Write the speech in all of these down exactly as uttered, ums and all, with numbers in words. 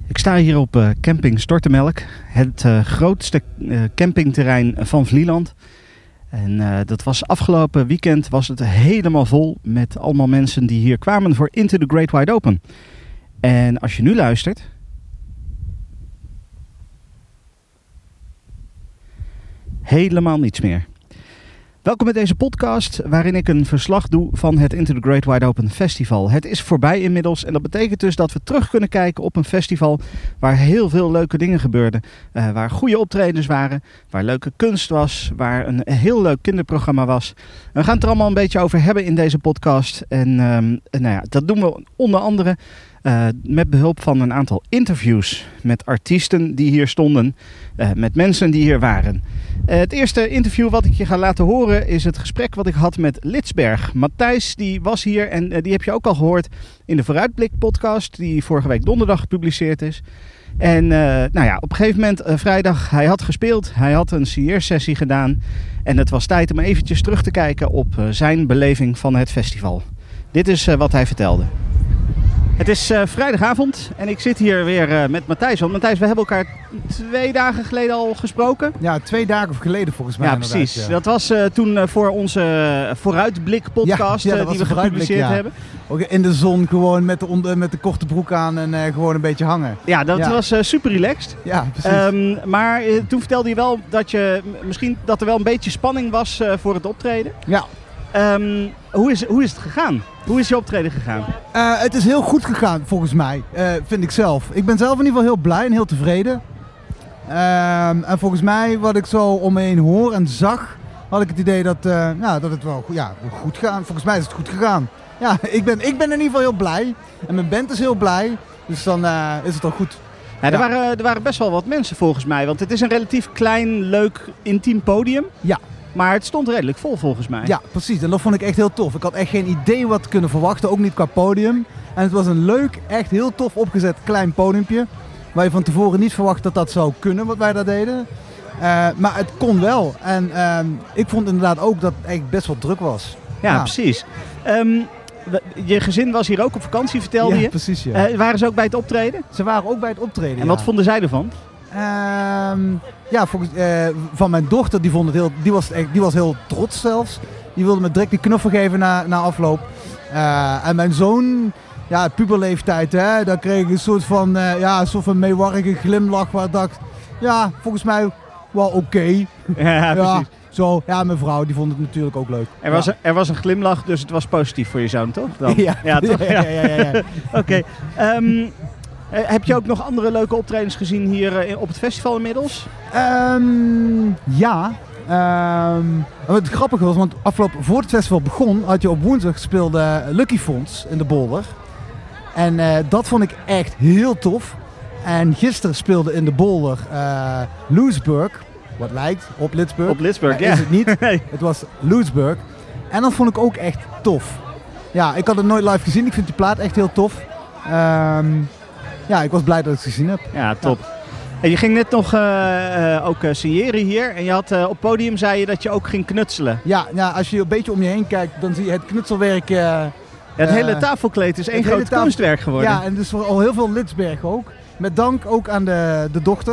Ik sta hier op uh, camping Stortemelk, het uh, grootste uh, campingterrein van Vlieland. En uh, dat was afgelopen weekend was het helemaal vol met allemaal mensen die hier kwamen voor Into the Great Wide Open. En als je nu luistert, helemaal niets meer. Welkom bij deze podcast waarin ik een verslag doe van het Into the Great Wide Open Festival. Het is voorbij inmiddels en dat betekent dus dat we terug kunnen kijken op een festival waar heel veel leuke dingen gebeurden. Uh, waar goede optredens waren, waar leuke kunst was, waar een heel leuk kinderprogramma was. En we gaan het er allemaal een beetje over hebben in deze podcast. En um, nou ja, dat doen we onder andere Uh, met behulp van een aantal interviews met artiesten die hier stonden, uh, met mensen die hier waren. Uh, het eerste interview wat ik je ga laten horen is het gesprek wat ik had met Lidsberg. Matthijs die was hier en uh, die heb je ook al gehoord in de Vooruitblik podcast die vorige week donderdag gepubliceerd is. En uh, nou ja, op een gegeven moment uh, vrijdag, hij had gespeeld, hij had een signeersessie gedaan en het was tijd om eventjes terug te kijken op uh, zijn beleving van het festival. Dit is uh, wat hij vertelde. Het is uh, vrijdagavond en ik zit hier weer uh, met Matthijs. Want Matthijs, we hebben elkaar twee dagen geleden al gesproken. Ja, twee dagen geleden volgens mij. Ja, precies. Ja. Dat was uh, toen uh, voor onze Vooruitblik podcast ja, ja, uh, die we gepubliceerd ja. hebben. Ook in de zon gewoon met de, onder, met de korte broek aan en uh, gewoon een beetje hangen. Ja, dat ja. was uh, super relaxed. Ja, precies. Um, maar uh, toen vertelde je wel dat, je, misschien, dat er wel een beetje spanning was uh, voor het optreden. Ja. Um, hoe, is, hoe is het gegaan? Hoe is je optreden gegaan? Uh, het is heel goed gegaan volgens mij, uh, vind ik zelf. Ik ben zelf in ieder geval heel blij en heel tevreden. Uh, en volgens mij, wat ik zo om me heen hoor en zag, had ik het idee dat, uh, ja, dat het wel ja, goed gaat. Volgens mij is het goed gegaan. Ja, ik ben, ik ben in ieder geval heel blij. En mijn band is heel blij. Dus dan uh, is het al goed. Ja, er, ja. waren, er waren best wel wat mensen volgens mij. Want het is een relatief klein, leuk, intiem podium. Ja. Maar het stond redelijk vol volgens mij. Ja, precies. En dat vond ik echt heel tof. Ik had echt geen idee wat te kunnen verwachten, ook niet qua podium. En het was een leuk, echt heel tof opgezet klein podiumpje. Waar je van tevoren niet verwacht dat dat zou kunnen, wat wij daar deden. Uh, maar het kon wel. En uh, ik vond inderdaad ook dat het echt best wel druk was. Ja, ja. Precies. Um, je gezin was hier ook op vakantie, vertelde ja, je. Precies, ja. Uh, waren ze ook bij het optreden? Ze waren ook bij het optreden, En ja. wat vonden zij ervan? Uh, ja, volgens, uh, van mijn dochter, die, vond het heel, die, was echt, die was heel trots zelfs. Die wilde me direct die knuffel geven na, na afloop. Uh, en mijn zoon, ja, puberleeftijd, hè, daar kreeg ik een soort van, uh, ja, een soort van meewarrige glimlach waar ik dacht, ja, volgens mij wel oké. Okay. Ja, precies. Ja, zo, ja, mijn vrouw, die vond het natuurlijk ook leuk. Er was, ja. een, er was een glimlach, dus het was positief voor je zoon, toch? Dan? Ja, ja, toch? ja, ja, ja, ja, ja. Oké. Okay. Um, Uh, heb je ook nog andere leuke optredens gezien hier uh, op het festival inmiddels? Um, ja. Um, wat grappig was, want afgelopen, voor het festival begon, had je op woensdag gespeelde Lucky Fonds in de Bolder. En uh, dat vond ik echt heel tof. En gisteren speelde in de Bolder uh, Loesburg, wat lijkt op Lidsberg. Op Lidsberg, ja. ja. Is het niet. Nee. Het was Loesburg. En dat vond ik ook echt tof. Ja, ik had het nooit live gezien. Ik vind die plaat echt heel tof. Um, Ja, ik was blij dat ik het gezien heb. Ja, top. Ja. En je ging net nog uh, uh, ook uh, signeren hier. En je had uh, op het podium zei je dat je ook ging knutselen. Ja, ja, als je een beetje om je heen kijkt, dan zie je het knutselwerk. Uh, ja, het uh, hele tafelkleed is één groot tafel... kunstwerk geworden. Ja, en dus voor al heel veel Lidsberg ook. Met dank ook aan de, de dochter.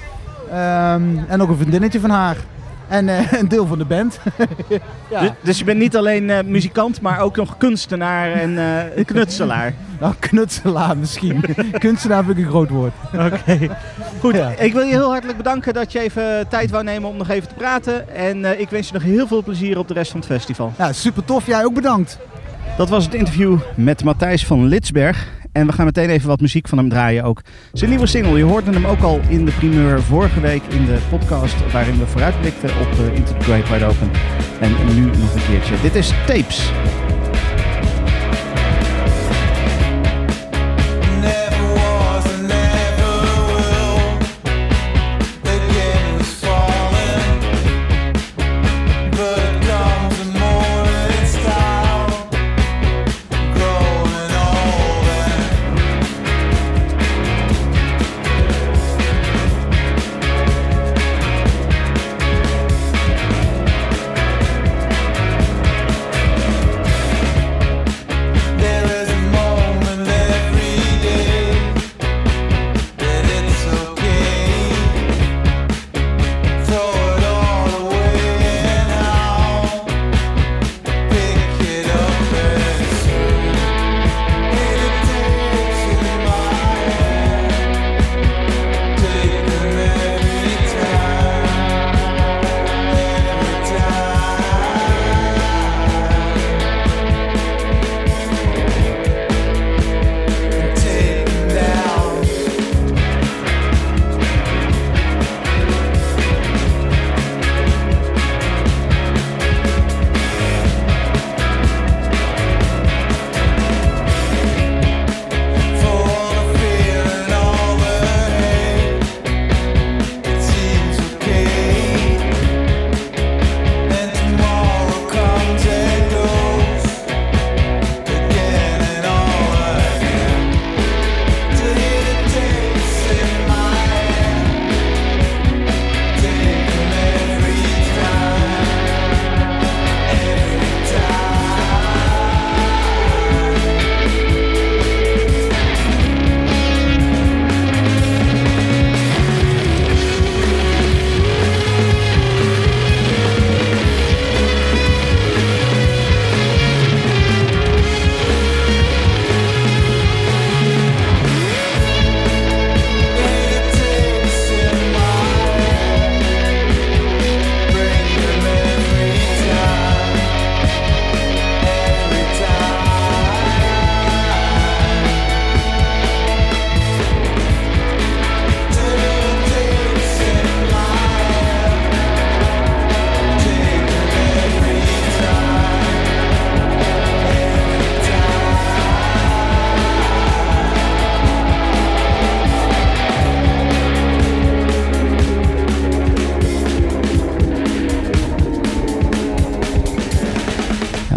Um, en ook een vriendinnetje van haar. En uh, een deel van de band. Ja. Dus, dus je bent niet alleen uh, muzikant, maar ook nog kunstenaar en uh, knutselaar. Nou, knutselaar misschien. Kunstenaar vind ik een groot woord. Oké. Okay. Goed, ja. Ik wil je heel hartelijk bedanken dat je even tijd wou nemen om nog even te praten. En uh, ik wens je nog heel veel plezier op de rest van het festival. Ja, super tof. Jij ook bedankt. Dat was het interview met Matthijs van Lidsberg. En we gaan meteen even wat muziek van hem draaien ook. Zijn nieuwe single, je hoorde hem ook al in de primeur vorige week in de podcast waarin we vooruitblikten op uh, Into the Great Wide Open. En nu nog een keertje. Dit is Tapes.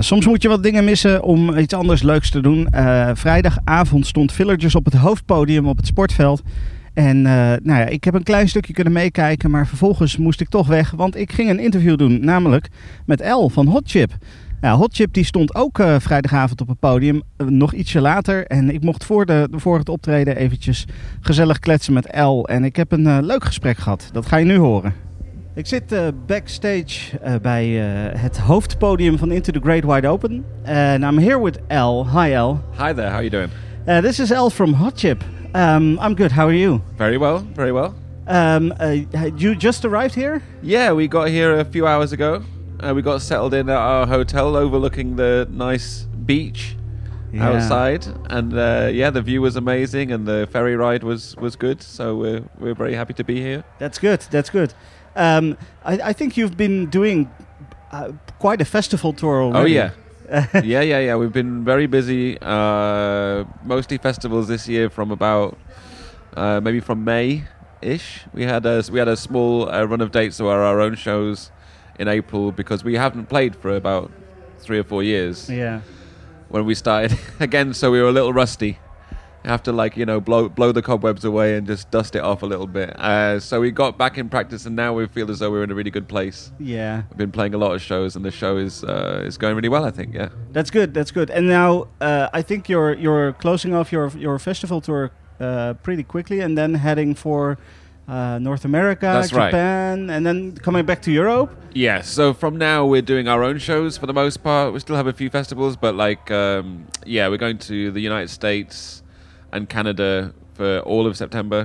soms moet je wat dingen missen om iets anders leuks te doen. Uh, vrijdagavond stond Villagers op het hoofdpodium op het sportveld. En uh, nou ja, ik heb een klein stukje kunnen meekijken, maar vervolgens moest ik toch weg. Want ik ging een interview doen, namelijk met El van Hot Chip. Ja, Hot Chip die stond ook uh, vrijdagavond op het podium, uh, nog ietsje later. En ik mocht voor, de, voor het optreden eventjes gezellig kletsen met El. En ik heb een uh, leuk gesprek gehad. Dat ga je nu horen. Ik zit uh, backstage uh, bij uh, het hoofdpodium van Into the Great Wide Open. And I'm here with El. Hi El. Hi there, how are you doing? Uh, this is El from Hot Chip. Um, I'm good, how are you? Very well, very well. Um, uh, you just arrived here? Yeah, we got here a few hours ago. Uh, we got settled in at our hotel overlooking the nice beach yeah. outside. And uh, yeah, the view was amazing and the ferry ride was, was good. So we're, we're very happy to be here. That's good, that's good. Um, I, I think you've been doing uh, quite a festival tour already. Oh yeah. yeah, yeah, yeah. We've been very busy. Uh, mostly festivals this year from about uh, maybe from May-ish. We had a, we had a small uh, run of dates, so our, our own shows in April, because we haven't played for about three or four years. Yeah. When we started again, so we were a little rusty. You have to like you know blow blow the cobwebs away and just dust it off a little bit. Uh, so we got back in practice, and now we feel as though we're in a really good place. Yeah. We've been playing a lot of shows, and the show is uh, is going really well, I think. Yeah. That's good. That's good. And now uh, I think you're you're closing off your your festival tour uh, pretty quickly, and then heading for uh, North America, That's Japan, right. and then coming back to Europe. Yeah. So from now we're doing our own shows for the most part. We still have a few festivals, but like um, yeah, we're going to the United States and Canada for all of September,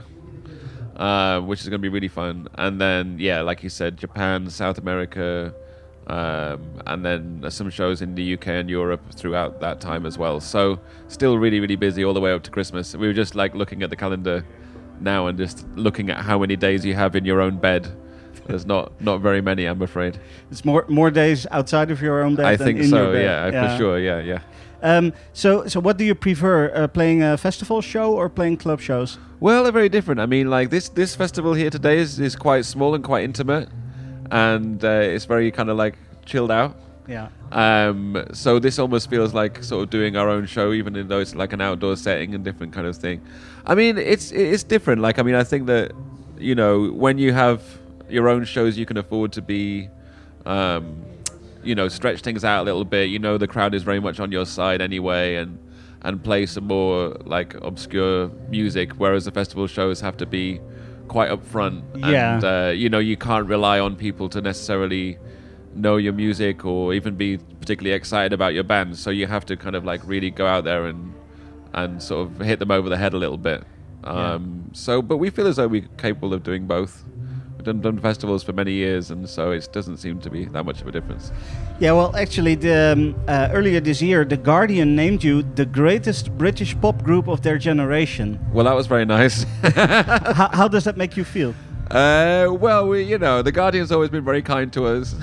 uh, which is going to be really fun. And then, yeah, like you said, Japan, South America, um, and then some shows in the U K and Europe throughout that time as well. So still really, really busy all the way up to Christmas. We were just like looking at the calendar now and just looking at how many days you have in your own bed. There's not, not very many, I'm afraid. It's more more days outside of your own bed I than think in so, your bed. yeah, yeah, for sure, yeah, yeah. Um, so, so what do you prefer, uh, playing a festival show or playing club shows? Well, they're very different. I mean, like this this festival here today is, is quite small and quite intimate, and uh, it's very kind of like chilled out. Yeah. Um, so this almost feels like sort of doing our own show, even though it's like an outdoor setting and different kind of thing. I mean, it's it's different. Like, I mean, I think that, you know, when you have your own shows, you can afford to be, um, you know, stretch things out a little bit. You know, the crowd is very much on your side anyway, and and play some more like obscure music, whereas the festival shows have to be quite upfront. Yeah. And uh, you know, you can't rely on people to necessarily know your music or even be particularly excited about your band. So you have to kind of like really go out there and and sort of hit them over the head a little bit. Um, yeah. So, but we feel as though we're capable of doing both. Done, done festivals for many years, and so it doesn't seem to be that much of a difference. Yeah, well, actually, the, um, uh, earlier this year, The Guardian named you the greatest British pop group of their generation. Well, that was very nice. how, how does that make you feel? Uh, well, we, you know, The Guardian's always been very kind to us.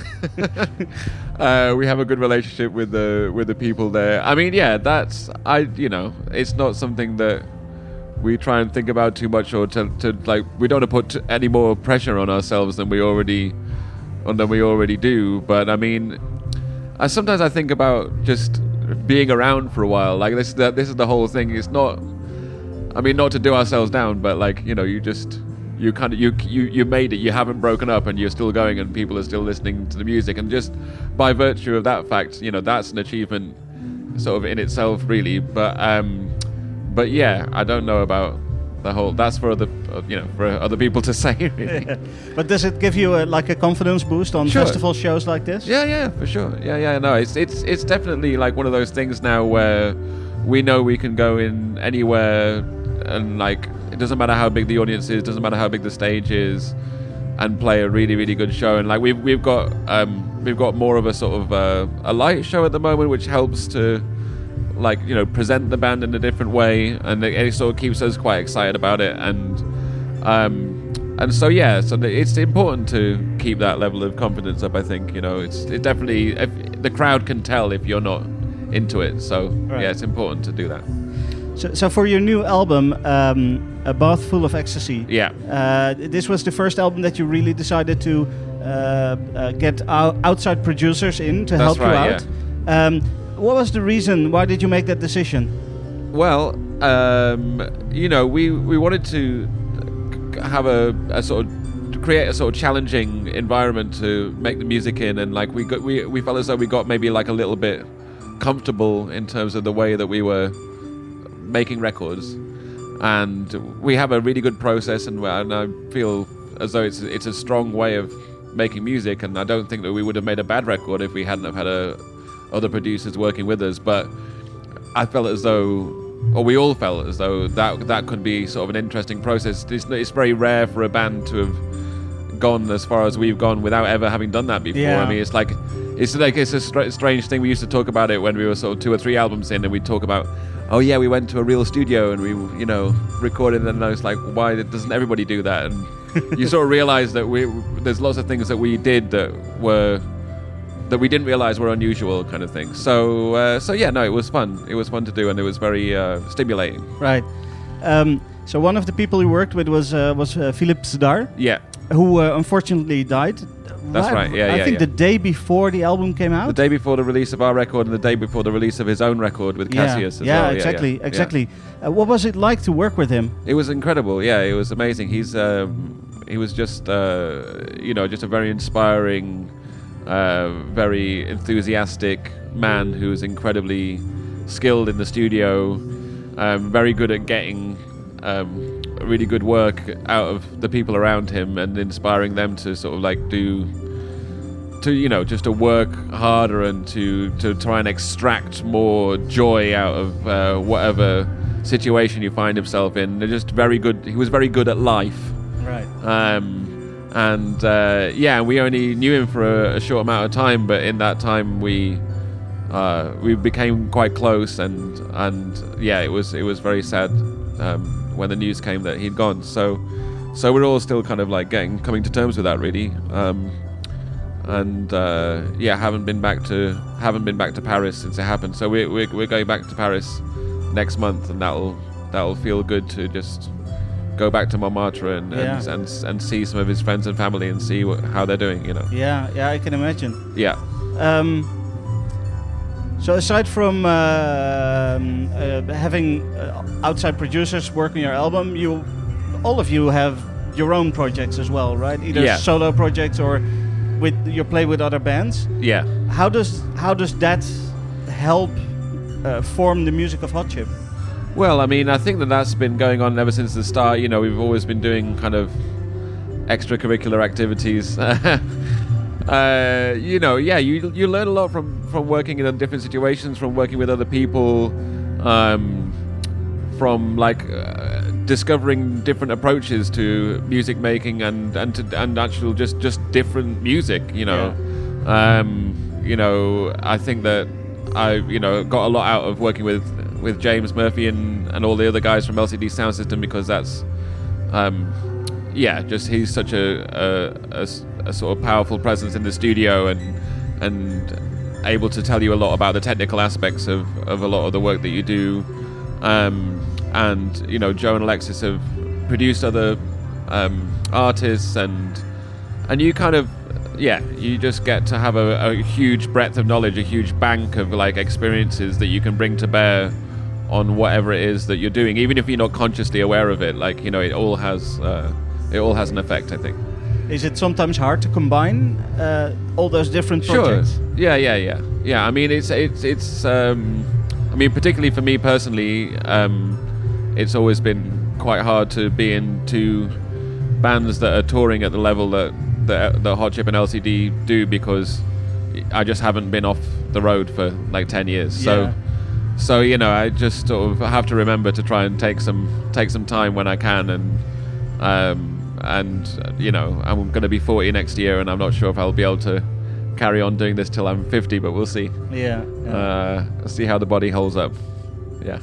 uh, we have a good relationship with the with the people there. I mean, yeah, that's I, you know, it's not something that we try and think about too much, or to, to like we don't want to put t- any more pressure on ourselves than we already on than we already do. But I mean, I sometimes I think about just being around for a while. Like this, the, this is the whole thing. It's not. I mean, not to do ourselves down, but like you know, you just you kind of you you you made it. You haven't broken up, and you're still going, and people are still listening to the music. And just by virtue of that fact, you know, that's an achievement, sort of in itself, really. But um. But yeah, I don't know about the whole. That's for other, uh, you know, for other people to say. Really. But does it give you a, like a confidence boost on Sure. festival shows like this? Yeah, yeah, for sure. Yeah, yeah. No, it's it's it's definitely like one of those things now where we know we can go in anywhere, and like it doesn't matter how big the audience is, doesn't matter how big the stage is, and play a really really good show. And like we've we've got um we've got more of a sort of uh, a light show at the moment, which helps to, like, you know, present the band in a different way, and it, it sort of keeps us quite excited about it. And um, and so yeah, so it's important to keep that level of confidence up. I think, you know, it's it definitely if, the crowd can tell if you're not into it. So Right. yeah, it's important to do that. So, so for your new album, um, A Bath Full of Ecstasy, Yeah. uh, this was the first album that you really decided to uh, uh, get out outside producers in to That's help you right, out. Um, what was the reason? Why did you make that decision? Well, um, you know, we, we wanted to have a, a sort of create a sort of challenging environment to make the music in, and like we got we we felt as though we got maybe like a little bit comfortable in terms of the way that we were making records, and we have a really good process, and, and I feel as though it's it's a strong way of making music, and I don't think that we would have made a bad record if we hadn't have had a, other producers working with us. But I felt as though, or we all felt as though that that could be sort of an interesting process. It's, it's very rare for a band to have gone as far as we've gone without ever having done that before. Yeah. I mean, it's like it's like it's a str- strange thing. We used to talk about it when we were sort of two or three albums in, and we'd talk about, oh yeah, we went to a real studio and we, you know, recorded. And I was like, why doesn't everybody do that? And you sort of realize that we there's lots of things that we did that were that we didn't realize were unusual, kind of thing. So uh, so yeah, no, it was fun. It was fun to do, and it was very uh, stimulating. Right. Um, so one of the people you worked with was uh, was uh, Philippe Zdar, Yeah. who uh, unfortunately died. That's right, yeah, I yeah, think yeah. the day before the album came out. The day before the release of our record, and the day before the release of his own record with Cassius yeah, as yeah, well. exactly, yeah, yeah. exactly. Uh, what was it like to work with him? It was incredible. Yeah, it was amazing. He's um, he was just uh, you know just a very inspiring, uh, very enthusiastic man who was incredibly skilled in the studio, um, very good at getting um, really good work out of the people around him and inspiring them to sort of like do. To you know, just to work harder and to, to try and extract more joy out of uh, whatever situation you find himself in. They're just very good. He was very good at life, Right. um, and uh, yeah, we only knew him for a, a short amount of time, but in that time we uh, we became quite close, and and yeah, it was it was very sad um, when the news came that he'd gone. So so we're all still kind of like getting coming to terms with that, really. Um, and uh, yeah, haven't been back to haven't been back to Paris since it happened. So we're we're, we're going back to Paris next month, and that'll that'll feel good to just go back to Montmartre and Yeah. and, and and see some of his friends and family and see what, how they're doing. You know. Yeah, yeah, I can imagine. Yeah. Um, so aside from uh, um, uh, having uh, outside producers work on your album, you, all of you have your own projects as well, right? Either Yeah. solo projects or with you play with other bands. Yeah. How does how does that help uh, form the music of Hot Chip? Well, I mean, I think that that's been going on ever since the start. You know, we've always been doing kind of extracurricular activities. uh, you know, yeah, you you learn a lot from, from working in different situations, from working with other people, um, from like uh, discovering different approaches to music making and and to, and actual just just different music. You know, um, you know, I think that I you know got a lot out of working with. with James Murphy and, and all the other guys from L C D Sound System, because that's um, yeah just he's such a, a, a, a sort of powerful presence in the studio and and able to tell you a lot about the technical aspects of, of a lot of the work that you do, um, and you know Joe and Alexis have produced other um, artists, and and you kind of yeah you just get to have a, a huge breadth of knowledge, a huge bank of like experiences that you can bring to bear on whatever it is that you're doing, even if you're not consciously aware of it. Like, you know, it all has uh, it all has an effect, I think. Is it sometimes hard to combine uh, all those different projects? Sure. Yeah, yeah, yeah, yeah. I mean, it's it's it's. Um, I mean, particularly for me personally, um, it's always been quite hard to be in two bands that are touring at the level that that, that Hot Chip and L C D do, because I just haven't been off the road for like ten years. So. Yeah. So you know, I just sort of have to remember to try and take some take some time when I can, and um, and uh, you know, I'm going to be forty next year, and I'm not sure if I'll be able to carry on doing this till I'm fifty, but we'll see. Yeah. yeah. Uh, see how the body holds up. Yeah.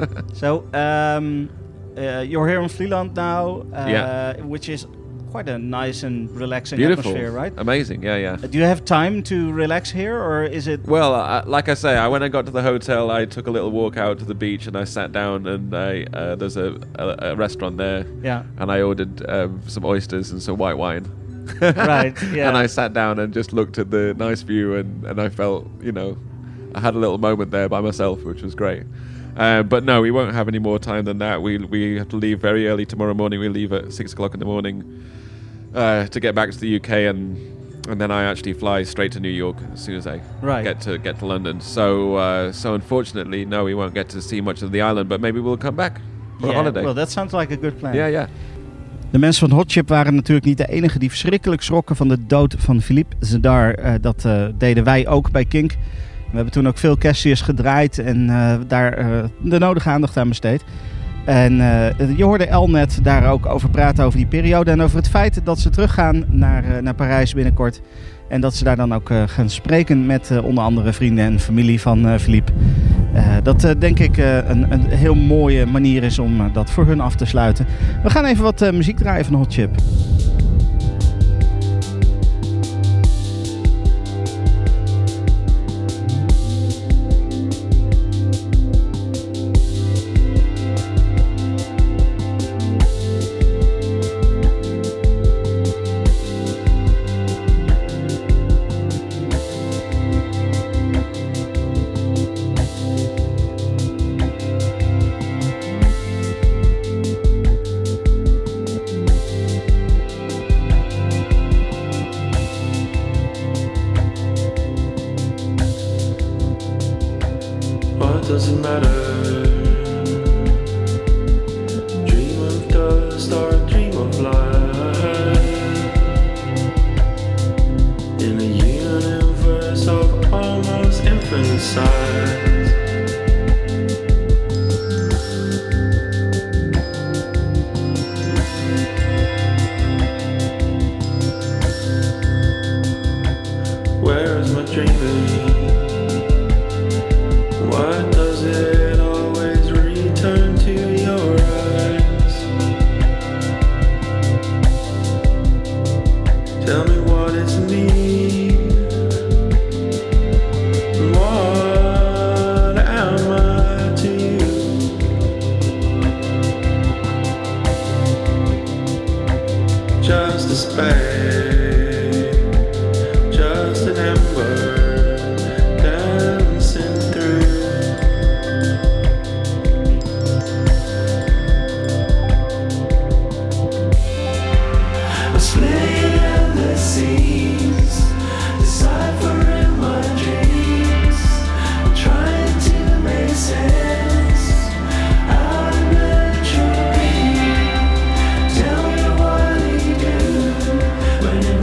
So um, uh, you're here in Vlieland now, uh, Yeah. which is quite a nice and relaxing Beautiful. atmosphere, right? Amazing. Yeah, yeah. Uh, do you have time to relax here, or is it? Well, uh, like I say, I, when I got to the hotel, I took a little walk out to the beach, and I sat down, and I uh, there's a, a, a restaurant there, Yeah. and I ordered um, some oysters and some white wine. Right, yeah. And I sat down and just looked at the nice view, and, and I felt, you know, I had a little moment there by myself, which was great. Uh, but no, we won't have any more time than that. We we have to leave very early tomorrow morning. We leave at six o'clock in the morning uh, to get back to the U K, and and then I actually fly straight to New York as soon as I Right. get to get to London. So uh, so unfortunately, no, we won't get to see much of the island. But maybe we'll come back for a Yeah, holiday. well, that sounds like a good plan. yeah, yeah. De mensen van Hot Chip waren natuurlijk niet de enige die verschrikkelijk schrokken van de dood van Philippe Zdar. Uh, dat uh, deden wij ook bij Kink. We hebben toen ook veel Cassius gedraaid en uh, daar uh, de nodige aandacht aan besteed. En uh, je hoorde El net daar ook over praten over die periode en over het feit dat ze teruggaan naar, uh, naar Parijs binnenkort. En dat ze daar dan ook uh, gaan spreken met uh, onder andere vrienden en familie van uh, Philippe. Uh, dat uh, denk ik uh, een, een heel mooie manier is om uh, dat voor hun af te sluiten. We gaan even wat uh, muziek draaien van Hot Chip. What does it matter? Dream of dust or dream of light in a universe of almost infinite size. Where is my dreaming? Why does it always return to your eyes? Tell me what it's me. What am I to you? Just a spade, just an ember. When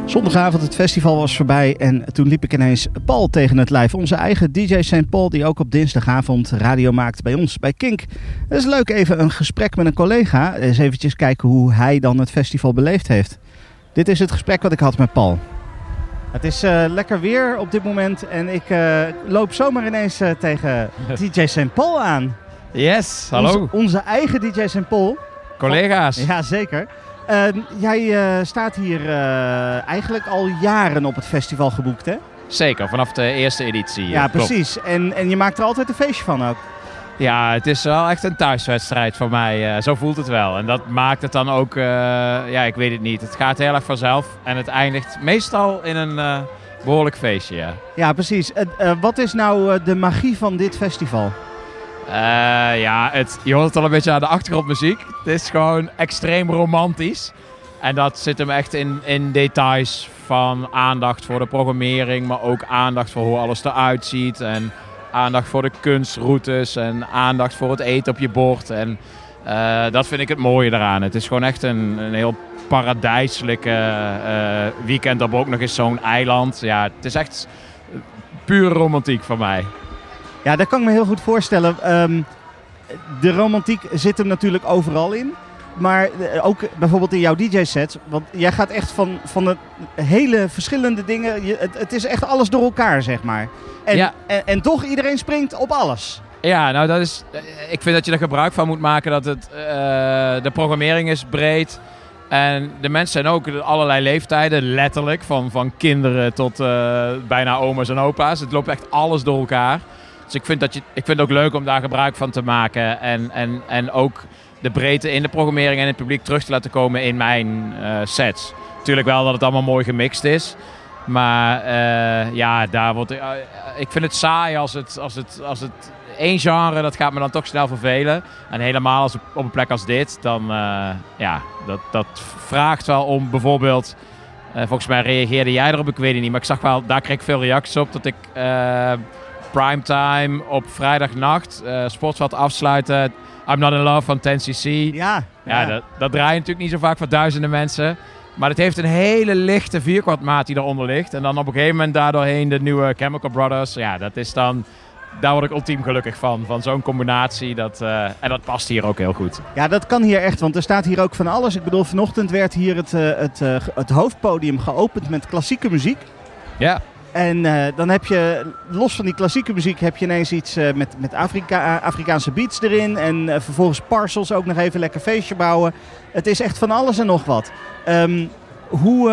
Zondagavond, het festival was voorbij en toen liep ik ineens Paul tegen het lijf. Onze eigen D J Saint Paul, die ook op dinsdagavond radio maakt bij ons, bij Kink. Het is leuk, even een gesprek met een collega. Eens eventjes kijken hoe hij dan het festival beleefd heeft. Dit is het gesprek wat ik had met Paul. Het is uh, lekker weer op dit moment en ik uh, loop zomaar ineens uh, tegen D J Saint Paul aan. Yes, hallo. Onze, onze eigen D J Saint Paul. Collega's. Ja, zeker. Uh, jij uh, staat hier uh, eigenlijk al jaren op het festival geboekt, hè? Zeker, vanaf de eerste editie. Ja, klopt. precies. En, en je maakt er altijd een feestje van ook. Ja, het is wel echt een thuiswedstrijd voor mij. Uh, zo voelt het wel. En dat maakt het dan ook, uh, ja, ik weet het niet. Het gaat heel erg vanzelf. En het eindigt meestal in een uh, behoorlijk feestje, ja. Ja, precies. Uh, uh, wat is nou uh, de magie van dit festival? Uh, ja, het, je hoort het al een beetje aan de achtergrondmuziek. Het is gewoon extreem romantisch. En dat zit hem echt in, in details van aandacht voor de programmering, maar ook aandacht voor hoe alles eruit ziet. En aandacht voor de kunstroutes en aandacht voor het eten op je bord. En uh, dat vind ik het mooie eraan. Het is gewoon echt een, een heel paradijselijke uh, weekend op ook nog eens zo'n eiland. Ja, het is echt pure romantiek voor mij. Ja, dat kan ik me heel goed voorstellen. Um, de romantiek zit hem natuurlijk overal in. Maar ook bijvoorbeeld in jouw D J-set. Want jij gaat echt van, van de hele verschillende dingen. Je, het, het is echt alles door elkaar, zeg maar. En, ja. en, en toch iedereen springt op alles. Ja, nou dat is. Ik vind dat je er gebruik van moet maken. Dat het, uh, de programmering is breed. En de mensen zijn ook allerlei leeftijden, letterlijk. Van, van kinderen tot uh, bijna oma's en opa's. Het loopt echt alles door elkaar. Dus ik vind, dat je, ik vind het ook leuk om daar gebruik van te maken. En, en, en ook de breedte in de programmering en het publiek terug te laten komen in mijn uh, sets. Natuurlijk wel dat het allemaal mooi gemixt is. Maar uh, ja, daar wordt, uh, ik vind het saai als het, als het, als het één genre, dat gaat me dan toch snel vervelen. En helemaal als op een plek als dit, dan uh, ja, dat, dat vraagt wel om bijvoorbeeld... Uh, volgens mij reageerde jij erop, ik weet het niet. Maar ik zag wel, daar kreeg ik veel reacties op dat ik... Uh, primetime op vrijdagnacht, uh, Sportsvat afsluiten, I'm Not In Love van ten C C. Ja. Ja, ja. Dat, dat draai je natuurlijk niet zo vaak voor duizenden mensen. Maar het heeft een hele lichte vierkwartmaat die eronder ligt. En dan op een gegeven moment daardoorheen de nieuwe Chemical Brothers. Ja, dat is dan... Daar word ik ultiem gelukkig van. Van zo'n combinatie. Dat, uh, en dat past hier ook heel goed. Ja, dat kan hier echt. Want er staat hier ook van alles. Ik bedoel, vanochtend werd hier het, uh, het, uh, het hoofdpodium geopend met klassieke muziek. Ja. En uh, dan heb je, los van die klassieke muziek, heb je ineens iets uh, met, met Afrika, uh, Afrikaanse beats erin. En uh, vervolgens Parcels ook nog even lekker feestje bouwen. Het is echt van alles en nog wat. Um, hoe,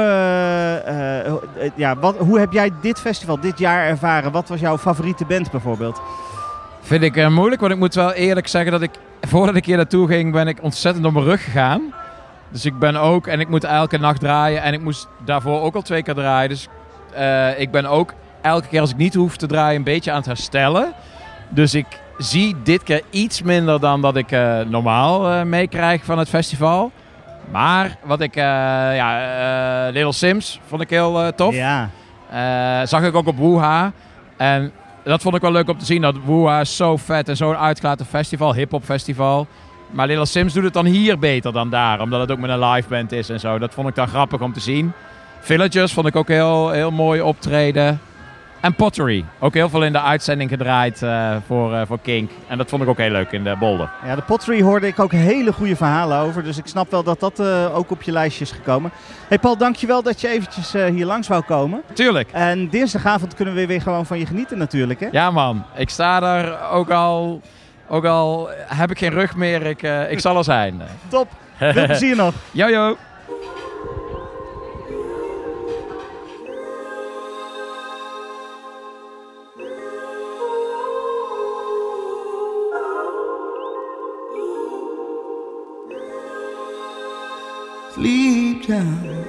uh, uh, ja, wat, hoe heb jij dit festival dit jaar ervaren? Wat was jouw favoriete band bijvoorbeeld? Vind ik uh, moeilijk, want ik moet wel eerlijk zeggen dat ik, voordat ik hier naartoe ging, ben ik ontzettend op mijn rug gegaan. Dus ik ben ook, en ik moet elke nacht draaien en ik moest daarvoor ook al twee keer draaien. Dus Uh, ik ben ook elke keer als ik niet hoef te draaien een beetje aan het herstellen. Dus ik zie dit keer iets minder dan dat ik uh, normaal uh, meekrijg van het festival. Maar wat ik, uh, ja, uh, Little Sims vond ik heel uh, tof. Ja. Uh, zag ik ook op Woeha. En dat vond ik wel leuk om te zien. Dat Woeha is zo vet en zo'n uitgelaten festival, hip-hop festival. Maar Little Sims doet het dan hier beter dan daar. Omdat het ook met een live band is en zo. Dat vond ik dan grappig om te zien. Villagers vond ik ook heel, heel mooi optreden. En Pottery. Ook heel veel in de uitzending gedraaid uh, voor, uh, voor Kink. En dat vond ik ook heel leuk in de Bolder. Ja, de Pottery hoorde ik ook hele goede verhalen over. Dus ik snap wel dat dat uh, ook op je lijstje is gekomen. Hey Paul, dankjewel dat je eventjes uh, hier langs wou komen. Tuurlijk. En dinsdagavond kunnen we weer gewoon van je genieten natuurlijk, hè? Ja man, ik sta er ook al... Ook al heb ik geen rug meer, ik, uh, ik zal er zijn. Top. Veel plezier nog. Yo yo. Deep down,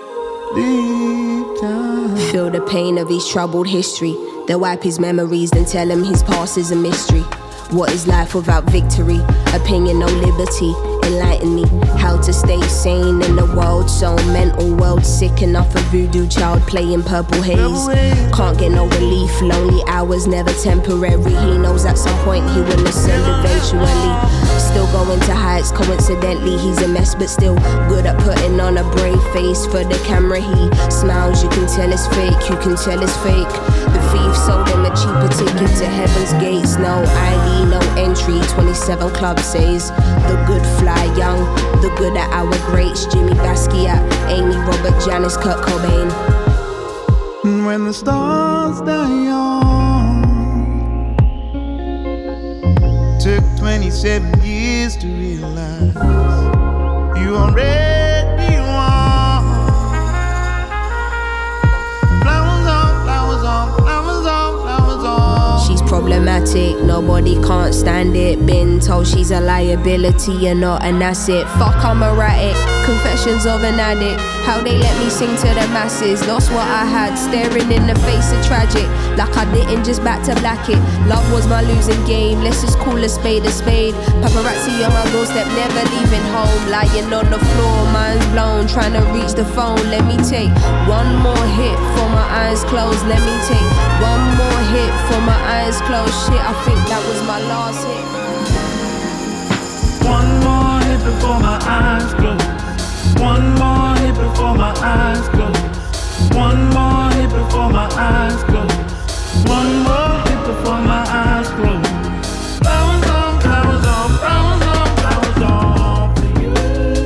deep down. Feel the pain of his troubled history. They wipe his memories, then tell him his past is a mystery. What is life without victory? Opinion, no liberty. Enlighten me how to stay sane in a world so mental, world sick enough. A voodoo child playing purple haze. Can't get no relief, lonely hours never temporary. He knows at some point he will ascend eventually. Still going to heights, coincidentally he's a mess, but still good at putting on a brave face for the camera. He smiles, you can tell it's fake, you can tell it's fake. The thief sold him a cheaper ticket to heaven's gates. No I D, no entry, twenty-seven Club says the good fly young, the good at our greats. Jimmy Basquiat, Amy, Robert, Janis, Kurt Cobain. When the stars die young, took twenty-seven years to realize you already won. Flowers on, flowers on, flowers on, flowers on. She's problematic, nobody can't stand it. Been told she's a liability and not an asset. Fuck, I'm erratic, confessions of an addict. How they let me sing to the masses. Lost what I had, staring in the face of tragic. Like I didn't just back to black it. Love was my losing game, let's just call a spade a spade. Paparazzi on my doorstep, never leaving home. Lying on the floor, mind's blown, trying to reach the phone. Let me take one more hit for my eyes closed. Let me take one more hit for my eyes closed. Shit, I think that was my last hit. One more hit before my eyes close. One more hit before my eyes close. One more hit before my eyes close. One more hit before my eyes close. Flowers on, flowers on, flowers on, flowers on for you.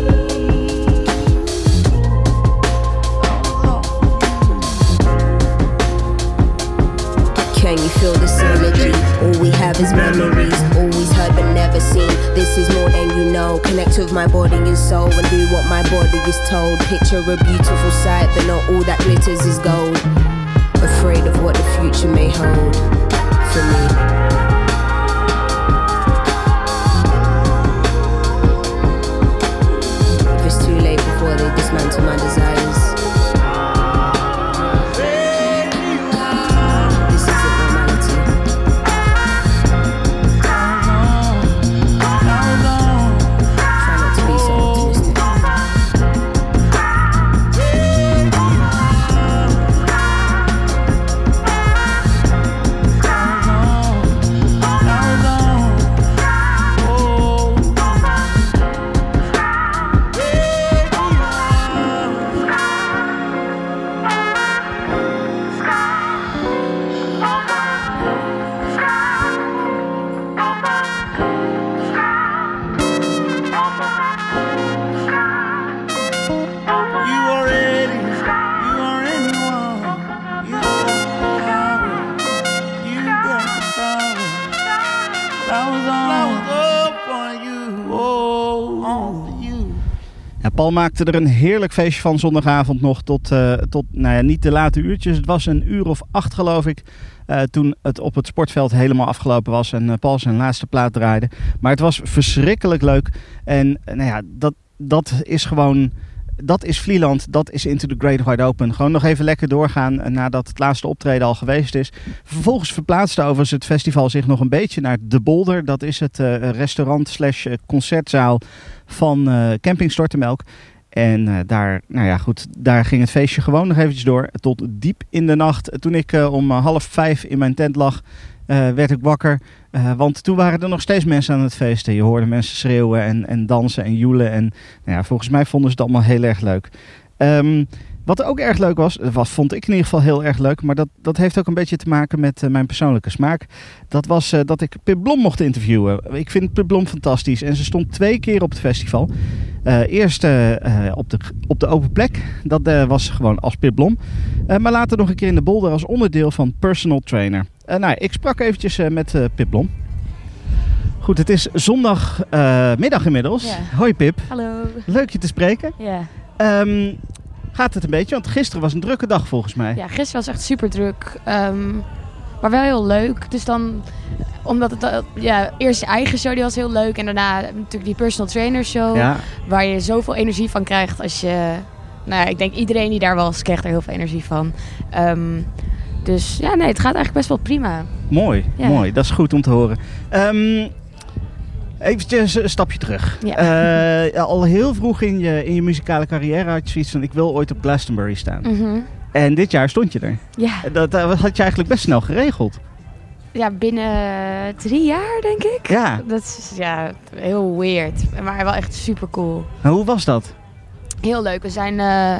Can you feel this energy? All we have is memories, always heard but never seen. This is more than you know. Connect with my body and soul and do what my body is told. Picture a beautiful sight, but not all that glitters is gold. Afraid of what the future may hold for me. If it's too late before they dismantle my desires, Paul maakte er een heerlijk feestje van zondagavond nog tot, uh, tot nou ja, niet de late uurtjes. Het was een uur of acht geloof ik, uh, toen het op het sportveld helemaal afgelopen was en uh, Paul zijn laatste plaat draaide. Maar het was verschrikkelijk leuk en uh, nou ja, dat, dat is gewoon... Dat is Vlieland, dat is Into the Great Wide Open. Gewoon nog even lekker doorgaan nadat het laatste optreden al geweest is. Vervolgens verplaatste overigens het festival zich nog een beetje naar De Bolder. Dat is het uh, restaurant slash concertzaal van uh, Camping Stortemelk. En uh, daar, nou ja, goed, daar ging het feestje gewoon nog eventjes door tot diep in de nacht. Toen ik uh, om half vijf in mijn tent lag, uh, werd ik wakker. Uh, want toen waren er nog steeds mensen aan het feesten. Je hoorde mensen schreeuwen en, en dansen en joelen. En nou ja, volgens mij vonden ze het allemaal heel erg leuk. Um, wat ook erg leuk was, was, vond ik in ieder geval heel erg leuk. Maar dat, dat heeft ook een beetje te maken met uh, mijn persoonlijke smaak. Dat was uh, dat ik Pip Blom mocht interviewen. Ik vind Pip Blom fantastisch. En ze stond twee keer op het festival. Uh, eerst uh, uh, op, de, op de open plek. Dat uh, was gewoon als Pip Blom. Uh, maar later nog een keer in de Bolder als onderdeel van personal trainer. Uh, nou, ik sprak eventjes uh, met uh, Pip Blom. Goed, het is zondagmiddag uh, inmiddels. Ja. Hoi Pip. Hallo. Leuk je te spreken. Ja. Um, gaat het een beetje? Want gisteren was een drukke dag volgens mij. Ja, gisteren was echt super druk. Um, maar wel heel leuk. Dus dan, omdat het, uh, ja, eerst je eigen show, die was heel leuk. En daarna natuurlijk die personal trainer show. Ja. Waar je zoveel energie van krijgt als je... Nou ja, ik denk iedereen die daar was, krijgt er heel veel energie van. Um, dus ja, nee, het gaat eigenlijk best wel prima. Mooi, ja. mooi. Dat is goed om te horen. Um, Eventjes een stapje terug. Ja. Uh, al heel vroeg in je, in je muzikale carrière had je zoiets van, ik wil ooit op Glastonbury staan. Mm-hmm. En dit jaar stond je er. Ja. Dat, dat had je eigenlijk best snel geregeld. ja, binnen drie jaar, denk ik. Ja. Dat is ja, heel weird. Maar wel echt super cool. Maar hoe was dat? Heel leuk. We zijn uh,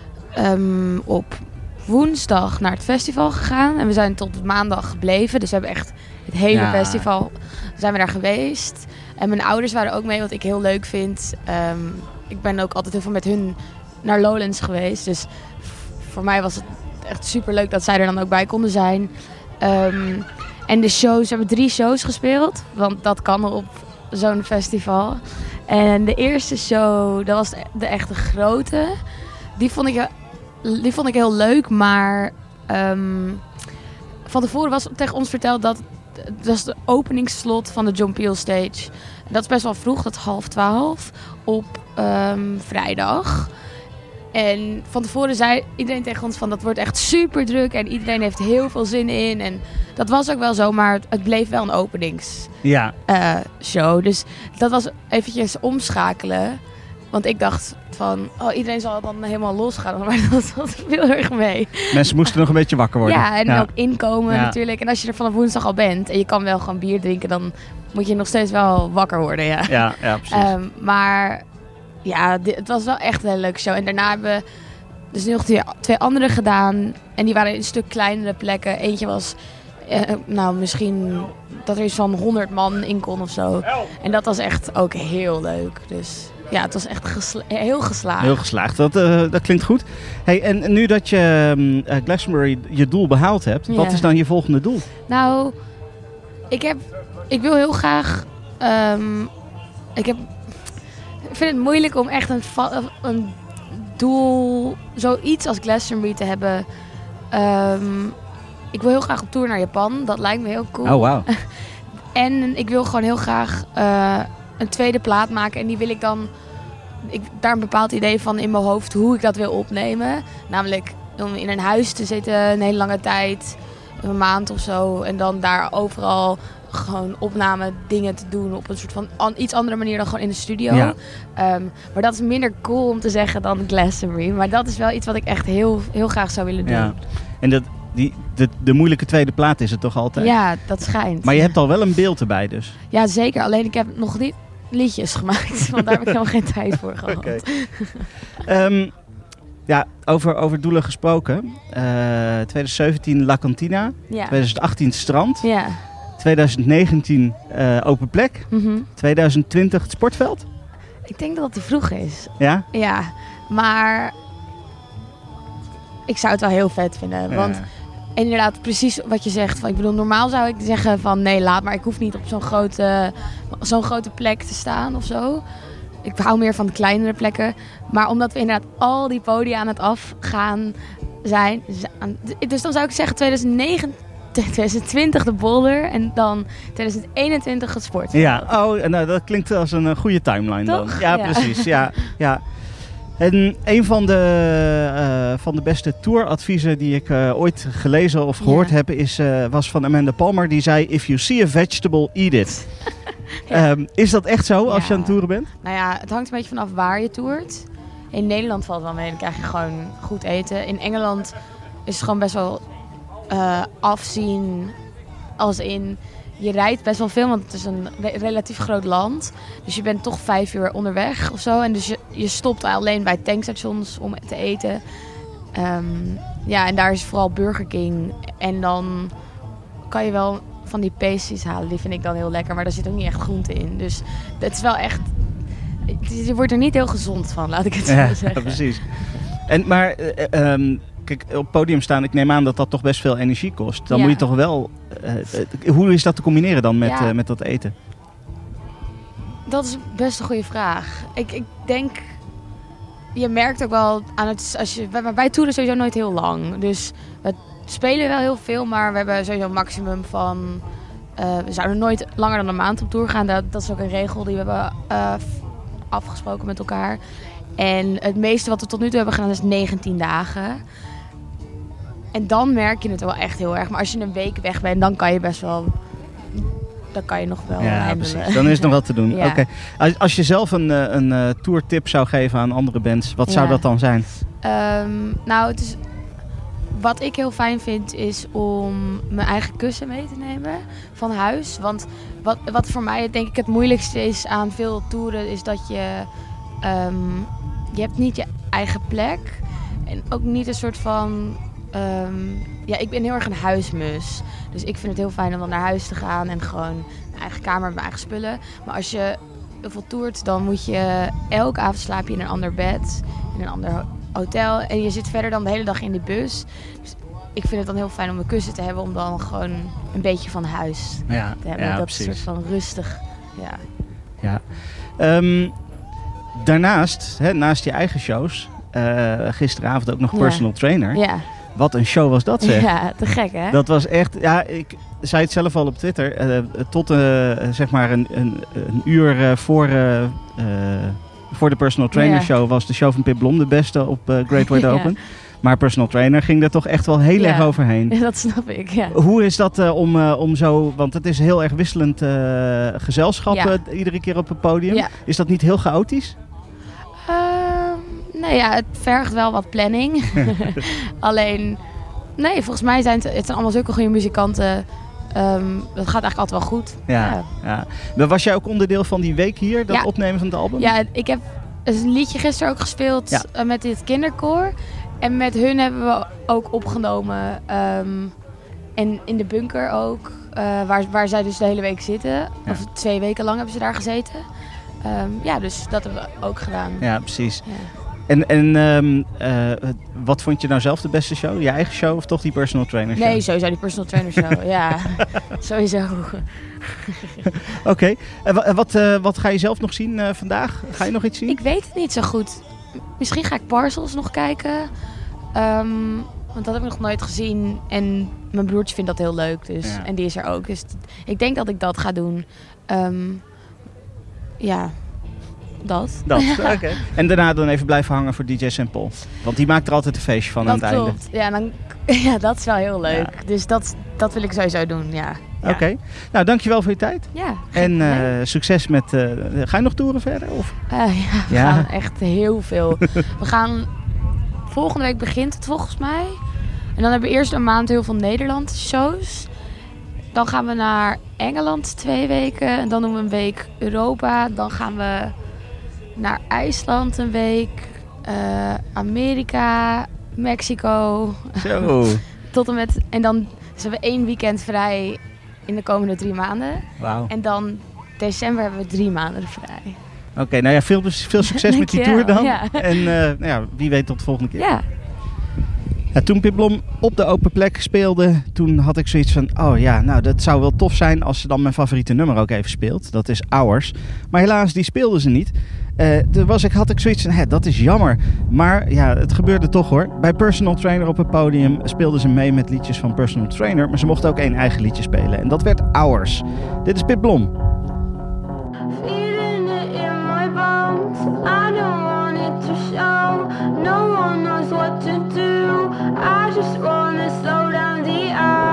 um, op woensdag naar het festival gegaan. En we zijn tot maandag gebleven. Dus we hebben echt het hele Ja. festival zijn we daar geweest. En mijn ouders waren ook mee, wat ik heel leuk vind. Um, ik ben ook altijd heel veel met hun naar Lowlands geweest. Dus v- voor mij was het echt super leuk dat zij er dan ook bij konden zijn. Um, en de shows, we hebben drie shows gespeeld. Want dat kan op zo'n festival. En de eerste show, dat was de, de echte grote. Die vond ik, die vond ik heel leuk, maar um, van tevoren was tegen ons verteld dat dat was de openingsslot van de John Peel Stage. Dat is best wel vroeg, dat is half twaalf op um, vrijdag. En van tevoren zei iedereen tegen ons van dat wordt echt super druk en iedereen heeft heel veel zin in. En dat was ook wel zo, maar het bleef wel een openings. Ja. Uh, show. Dus dat was eventjes omschakelen. Want ik dacht van, oh, iedereen zal dan helemaal losgaan. Maar dat was heel erg mee. Mensen moesten nog een beetje wakker worden. Ja, en ook inkomen Ja. natuurlijk. En als je er vanaf woensdag al bent en je kan wel gewoon bier drinken, dan moet je nog steeds wel wakker worden. Ja, Ja, ja precies. um, maar ja, dit, het was wel echt een hele leuke show. En daarna hebben we dus nog twee, twee andere gedaan. En die waren in een stuk kleinere plekken. Eentje was, eh, nou misschien dat er iets van honderd man in kon of zo. En dat was echt ook heel leuk. Dus ja, het was echt gesla- heel geslaagd. Heel geslaagd, dat, uh, dat klinkt goed. Hey, en nu dat je um, uh, Glastonbury je doel behaald hebt, Ja. wat is dan je volgende doel? Nou, ik heb, ik wil heel graag, um, ik heb, ik vind het moeilijk om echt een, va- een doel, zoiets als Glastonbury te hebben. Um, ik wil heel graag op tour naar Japan, dat lijkt me heel cool. Oh, wauw. En ik wil gewoon heel graag uh, een tweede plaat maken en die wil ik dan, ik daar een bepaald idee van in mijn hoofd hoe ik dat wil opnemen. Namelijk om in een huis te zitten een hele lange tijd, een maand of zo. En dan daar overal gewoon opname dingen te doen op een soort van an- iets andere manier dan gewoon in de studio. Ja. Um, maar dat is minder cool om te zeggen dan Glastonbury. Maar dat is wel iets wat ik echt heel, heel graag zou willen doen. Ja. En dat, die, de, de moeilijke tweede plaat is het toch altijd? Ja, dat schijnt. Maar je hebt al wel een beeld erbij dus. Ja, zeker. Alleen ik heb nog niet liedjes gemaakt. Want daar heb ik helemaal geen tijd voor gehad. Oké. um, ja, over, over doelen gesproken. Uh, twintig zeventien La Cantina. Ja. twintig achttien Strand. Ja. twintig negentien uh, Open Plek. Mm-hmm. twintig twintig het Sportveld. Ik denk dat dat te vroeg is. Ja? Ja, maar ik zou het wel heel vet vinden. Want Ja. inderdaad, precies wat je zegt. Van, ik bedoel, normaal zou ik zeggen van nee, laat maar. Ik hoef niet op zo'n grote, zo'n grote plek te staan of zo. Ik hou meer van de kleinere plekken. Maar omdat we inderdaad al die podia aan het afgaan zijn. Dus dan zou ik zeggen twintig negentien, twintig twintig de Boulder en dan twintig eenentwintig het Sportveld. Ja, oh, nou, dat klinkt als een uh, goede timeline Toch? dan. Ja, Ja. precies. Ja, ja. En een van de, uh, van de beste touradviezen die ik uh, ooit gelezen of gehoord Ja. heb is, uh, was van Amanda Palmer. Die zei, if you see a vegetable, eat it. Ja. um, is dat echt zo als Ja. je aan het toeren bent? Nou ja, het hangt een beetje vanaf waar je toert. In Nederland valt het wel mee, dan krijg je gewoon goed eten. In Engeland is het gewoon best wel uh, afzien. Als in, je rijdt best wel veel, want het is een re- relatief groot land. Dus je bent toch vijf uur onderweg of zo. En dus je, je stopt alleen bij tankstations om te eten. Um, ja, en daar is vooral Burger King. En dan kan je wel van die pasties halen. Die vind ik dan heel lekker, maar daar zit ook niet echt groente in. Dus het is wel echt... Je wordt er niet heel gezond van, laat ik het zo Ja, zeggen. precies. En, maar uh, um, kijk, op het podium staan, ik neem aan dat dat toch best veel energie kost. Dan Ja. moet je toch wel... Uh, uh, hoe is dat te combineren dan met, Ja. uh, met dat eten? Dat is best een goede vraag. Ik, ik denk... Je merkt ook wel aan het... Als je, wij, wij toeren sowieso nooit heel lang. Dus we spelen wel heel veel, maar we hebben sowieso een maximum van... Uh, we zouden nooit langer dan een maand op tour gaan. Dat, dat is ook een regel die we hebben uh, afgesproken met elkaar. En het meeste wat we tot nu toe hebben gedaan is negentien dagen. En dan merk je het wel echt heel erg. Maar als je een week weg bent, dan kan je best wel... Dan kan je nog wel Ja, handelen. precies. Dan is het nog wat te doen. Ja. Oké. Als, als je zelf een, uh, een uh, tourtip zou geven aan andere bands, wat zou Ja. dat dan zijn? Um, nou, het is... wat ik heel fijn vind is om mijn eigen kussen mee te nemen van huis. Want wat, wat voor mij denk ik het moeilijkste is aan veel toeren is dat je... Um, je hebt niet je eigen plek. En ook niet een soort van... Um, ja, ik ben heel erg een huismus. Dus ik vind het heel fijn om dan naar huis te gaan en gewoon mijn eigen kamer met mijn eigen spullen. Maar als je heel veel toert, dan moet je elke avond slaap je in een ander bed, in een ander hotel. En je zit verder dan de hele dag in de bus. Dus ik vind het dan heel fijn om een kussen te hebben om dan gewoon een beetje van huis Ja, te hebben. ja, dat precies. is een soort van rustig. Ja. Ja. Um, daarnaast, hè, naast je eigen shows, uh, gisteravond ook nog Ja. personal trainer. Ja. Wat een show was dat, zeg. Ja, te gek hè? Dat was echt, ja, ik zei het zelf al op Twitter. Uh, tot uh, zeg maar een, een, een uur uh, voor, uh, uh, voor de personal trainer Ja. show was de show van Pip Blom de beste op uh, Great Wide Ja. Open. Maar personal trainer ging er toch echt wel heel Ja. erg overheen. Ja, dat snap ik, ja. Hoe is dat uh, om, uh, om zo, want het is heel erg wisselend uh, gezelschap Ja. uh, iedere keer op het podium. Ja. Is dat niet heel chaotisch? Um, nou ja, het vergt wel wat planning. Alleen, nee, volgens mij zijn het, het zijn allemaal zulke goede muzikanten. Um, dat gaat eigenlijk altijd wel goed. Ja, Ja. ja. Maar was jij ook onderdeel van die week hier, dat Ja. opnemen van het album? Ja, ik heb een liedje gisteren ook gespeeld Ja. uh, met dit kinderkoor. En met hun hebben we ook opgenomen. Um, en in de bunker ook. Uh, waar, waar zij dus de hele week zitten. Ja. Of twee weken lang hebben ze daar gezeten. Um, ja, dus dat hebben we ook gedaan. Ja, precies. Ja. En, en um, uh, wat vond je nou zelf de beste show? Je eigen show of toch die personal trainer show? Nee, sowieso die personal trainer show. Ja, sowieso. Oké. Okay. En wa- wat, uh, wat ga je zelf nog zien uh, vandaag? Ga je nog iets zien? Ik weet het niet zo goed. Misschien ga ik Parcels nog kijken. Um, want dat heb ik nog nooit gezien. En mijn broertje vindt dat heel leuk. Dus. Ja. En die is er ook. Dus t- ik denk dat ik dat ga doen. Um, ja, dat. Dat, oké. Okay. En daarna dan even blijven hangen voor D J Saint Paul. Want die maakt er altijd een feestje van aan Dat het einde. klopt. Ja, dan, ja, dat is wel heel leuk. Ja. Dus dat, dat wil ik sowieso doen, ja. Oké. Ja. Okay. Nou, dankjewel voor je tijd. Ja, En uh, nee. succes met... Uh, ga je nog toeren verder? Of? Uh, ja, we Ja. gaan echt heel veel. We gaan... Volgende week begint het volgens mij. En dan hebben we eerst een maand heel veel Nederland shows. Dan gaan we naar Engeland twee weken. En dan doen we een week Europa. Dan gaan we naar IJsland een week. Uh, Amerika, Mexico. Zo. Tot en met... En dan dus hebben we één weekend vrij in de komende drie maanden. Wauw. En dan december hebben we drie maanden vrij. Oké, okay, nou ja, veel, veel succes met die Dankjewel, tour dan. ja. En uh, nou ja, wie weet tot de volgende keer. Ja. Ja, toen Pip Blom op de open plek speelde, toen had ik zoiets van... Oh ja, nou dat zou wel tof zijn als ze dan mijn favoriete nummer ook even speelt. Dat is Hours. Maar helaas, die speelde ze niet. Uh, toen was ik, had ik zoiets van, hè, dat is jammer. Maar ja, het gebeurde toch hoor. Bij Personal Trainer op het podium speelden ze mee met liedjes van Personal Trainer. Maar ze mochten ook één eigen liedje spelen. En dat werd Hours. Dit is Pip Blom. Feeling it in my bones. I don't want it to show. No one knows what to do. I just wanna slow down the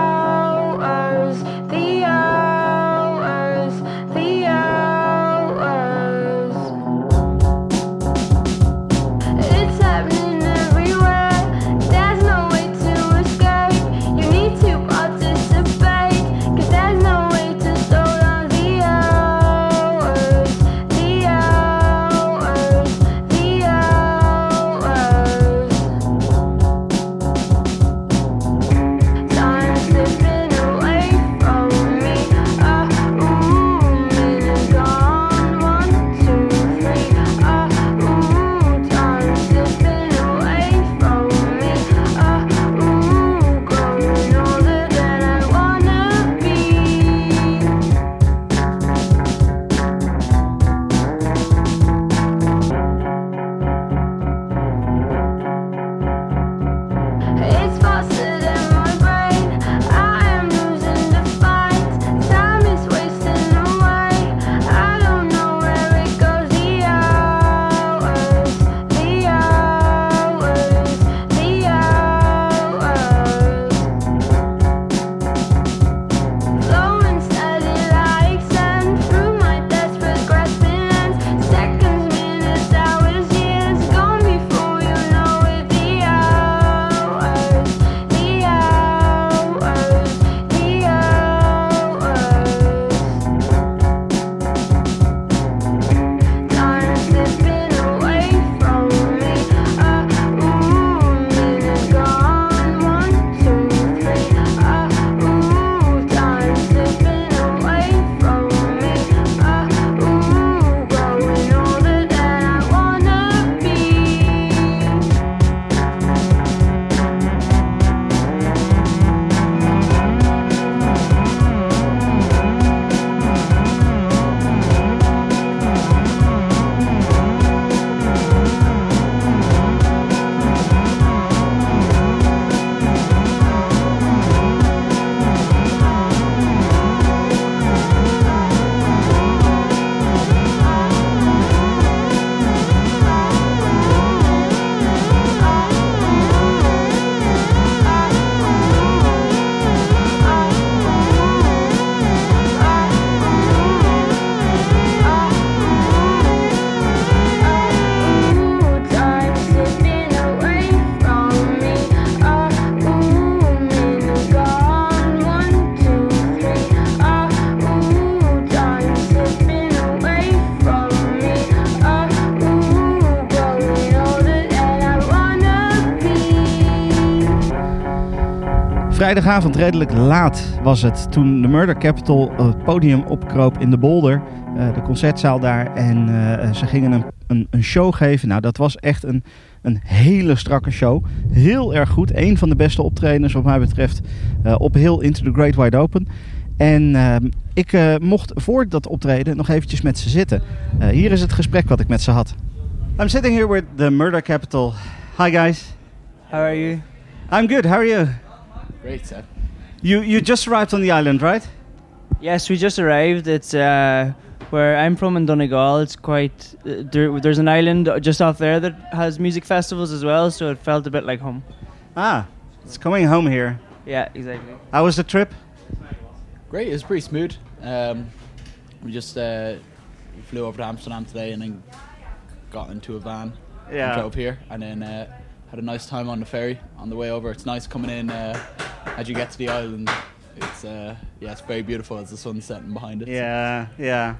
hours, the hours, the hours. It's happening everywhere. There's no way to escape. You need to participate, 'cause there's no way to slow down the hours. The hours, Vrijdagavond, redelijk laat was het, toen de Murder Capital het podium opkroop in de Bolder, uh, de concertzaal daar. En uh, ze gingen een, een, een show geven. Nou, dat was echt een, een hele strakke show. Heel erg goed. Eén van de beste optredens wat mij betreft uh, op heel Into the Great Wide Open. En uh, ik uh, mocht voor dat optreden nog eventjes met ze zitten. Uh, hier is het gesprek wat ik met ze had. I'm sitting here with the Murder Capital. Hi guys. How are you? I'm good. How are you? Great, sir. You you just arrived on the island, right? Yes, we just arrived. It's uh, where I'm from in Donegal. It's quite uh, there, there's an island just off there that has music festivals as well, so it felt a bit like home. Ah, it's coming home here. Yeah, exactly. How was the trip? Great, it was pretty smooth. Um, we just uh, flew over to Amsterdam today and then got into a van Yeah. and drove here, and then uh, had a nice time on the ferry on the way over. It's nice coming in uh, as you get to the island. It's uh, yeah, it's very beautiful as the sun's setting behind it. Yeah, yeah.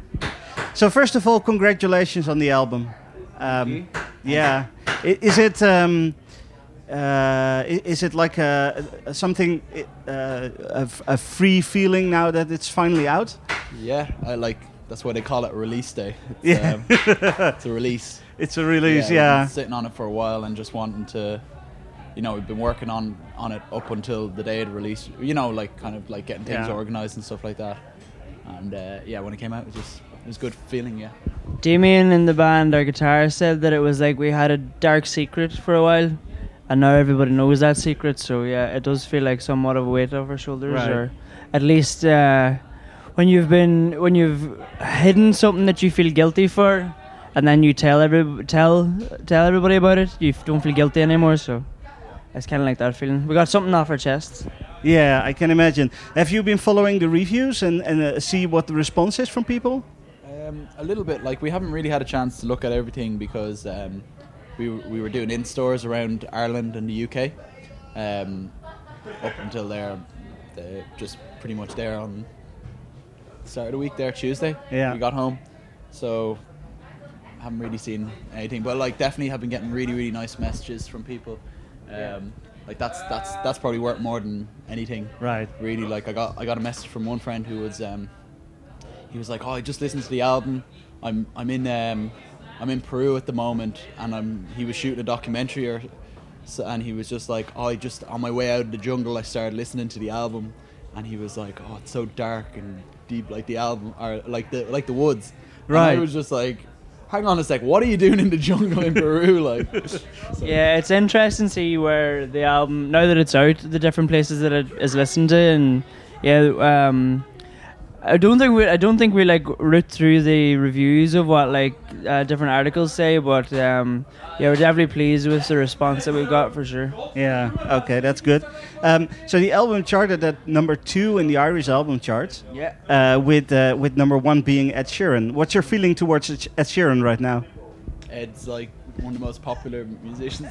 So first of all, congratulations on the album. Um, yeah, I- is it um, uh, i- is it like a, a something uh, a, f- a free feeling now that it's finally out? Yeah, I like that's why they call it a release day. It's, Yeah. um, it's a release. It's a release, we've yeah. been sitting on it for a while and just wanting to, you know, we've been working on, on it up until the day of the release. You know, like kind of like getting things Yeah. organized and stuff like that. And uh, yeah, when it came out, it was just it was a good feeling. Yeah. Damien in the band, our guitarist, said that it was like we had a dark secret for a while, and now everybody knows that secret. So yeah, it does feel like somewhat of a weight off our shoulders, Right. or at least uh, when you've been when you've hidden something that you feel guilty for, and then you tell every tell tell everybody about it, you f- don't feel guilty anymore. So it's kind of like that feeling. We got something off our chests. Yeah, I can imagine. Have you been following the reviews and, and uh, see what the response is from people? Um, a little bit. Like we haven't really had a chance to look at everything because um, we w- we were doing in stores around Ireland and the U K. Um, up until there, the, just pretty much there on start of the week there Tuesday. Yeah. We got home, so haven't really seen anything. But like definitely have been getting really really nice messages from people. Um, like that's that's that's probably worth more than anything. Right. Really, like I got I got a message from one friend who was um, he was like, oh, I just listened to the album. I'm I'm in um, I'm in Peru at the moment, and I'm he was shooting a documentary or so, and he was just like, oh, I just on my way out of the jungle, I started listening to the album, and he was like, oh, it's so dark and deep, like the album or like the like the woods. And Right. I was just like, hang on a sec, what are you doing in the jungle in Peru, like? So- Yeah, it's interesting to see where the album, now that it's out, the different places that it is listened to, and yeah, um, I don't think we, I don't think we like root through the reviews of what like uh, different articles say, but um, yeah, we're definitely pleased with the response that we've got for sure. Yeah, okay, that's good. Um, so the album charted at number two in the Irish album charts. Yeah. Uh, with uh, with number one being Ed Sheeran. What's your feeling towards Ed Ed Sheeran right now? Ed's like one of the most popular musicians.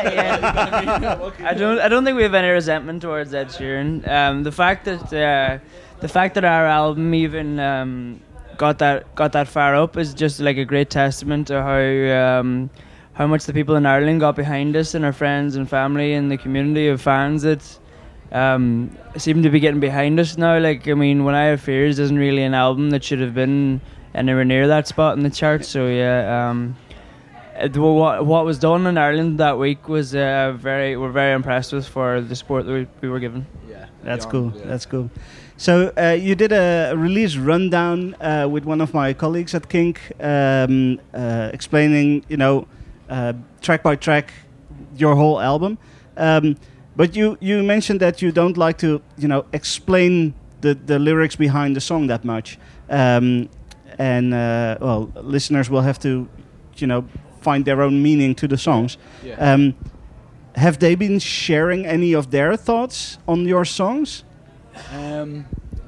Yeah. I don't. I don't think we have any resentment towards Ed Sheeran. Um, the fact that uh, the fact that our album even um, got that got that far up is just like a great testament to how um, how much the people in Ireland got behind us, and our friends and family and the community of fans that um, seem to be getting behind us now. Like, I mean, When I Have Fears isn't really an album that should have been anywhere near that spot in the charts. So yeah. Um, Uh, What what was done in Ireland that week was uh, very we're very impressed with for the support that we, we were given. Yeah, That's yeah, cool. yeah. That's cool. So uh, you did a release rundown uh, with one of my colleagues at Kink, um, uh, explaining, you know, uh, track by track, your whole album. Um, but you you mentioned that you don't like to, you know, explain the the lyrics behind the song that much, um, and uh, well, listeners will have to, you know, find their own meaning to the songs. Yeah. Um, have they been sharing any of their thoughts on your songs? Um,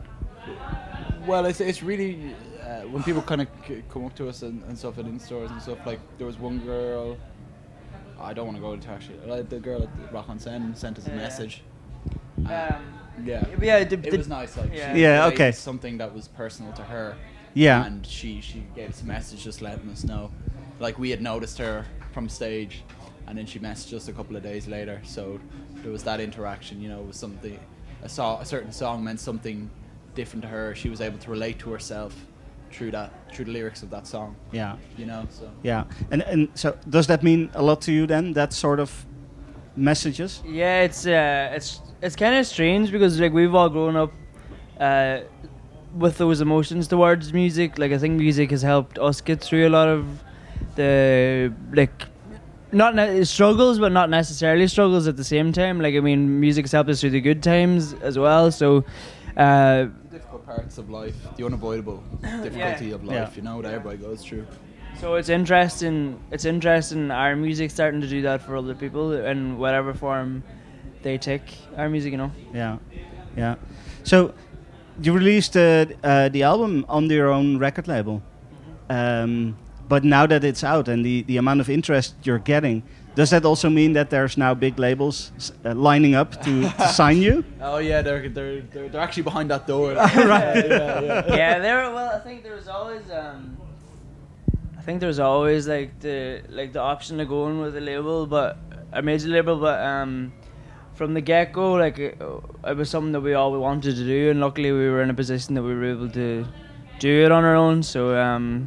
well, it's it's really uh, when people kind of c- come up to us and, and stuff at in stores and stuff. Like there was one girl. I don't want to go into actually. Like the girl at the Rock on Sen sent us a Yeah. message. Um, Yeah, yeah, the, it the, was nice. Like yeah. she Yeah, related okay. something that was personal to her. Yeah. and she she gave us a message just letting us know. Like we had noticed her from stage, and then she messaged us a couple of days later. So there was that interaction, you know, it was something. a, so- a certain song meant something different to her. She was able to relate to herself through that, through the lyrics of that song. Yeah. You know, so. Yeah. And and so does that mean a lot to you then? That sort of messages? Yeah, it's uh, it's it's kind of strange because like we've all grown up uh, with those emotions towards music. Like I think music has helped us get through a lot of the like not ne- struggles, but not necessarily struggles at the same time. Like I mean, music has helped us through the good times as well. So. Uh, difficult parts of life, the unavoidable difficulty Yeah. of life, Yeah. you know, that everybody goes through. So it's interesting. It's interesting. Our music starting to do that for other people in whatever form they take our music. You know. Yeah. Yeah. So you released uh, uh, the album on your own record label. Um, but now that it's out and the, the amount of interest you're getting, does that also mean that there's now big labels uh, lining up to, to sign you? Oh yeah, they're they're they're, they're actually behind that door. Right. Yeah, yeah, yeah. Yeah, there. Well, I think there was always. Um, I think there was always like the like the option of going with a label, but a major label. But um, from the get go, like it, it was something that we all wanted to do, and luckily we were in a position that we were able to do it on our own. So um,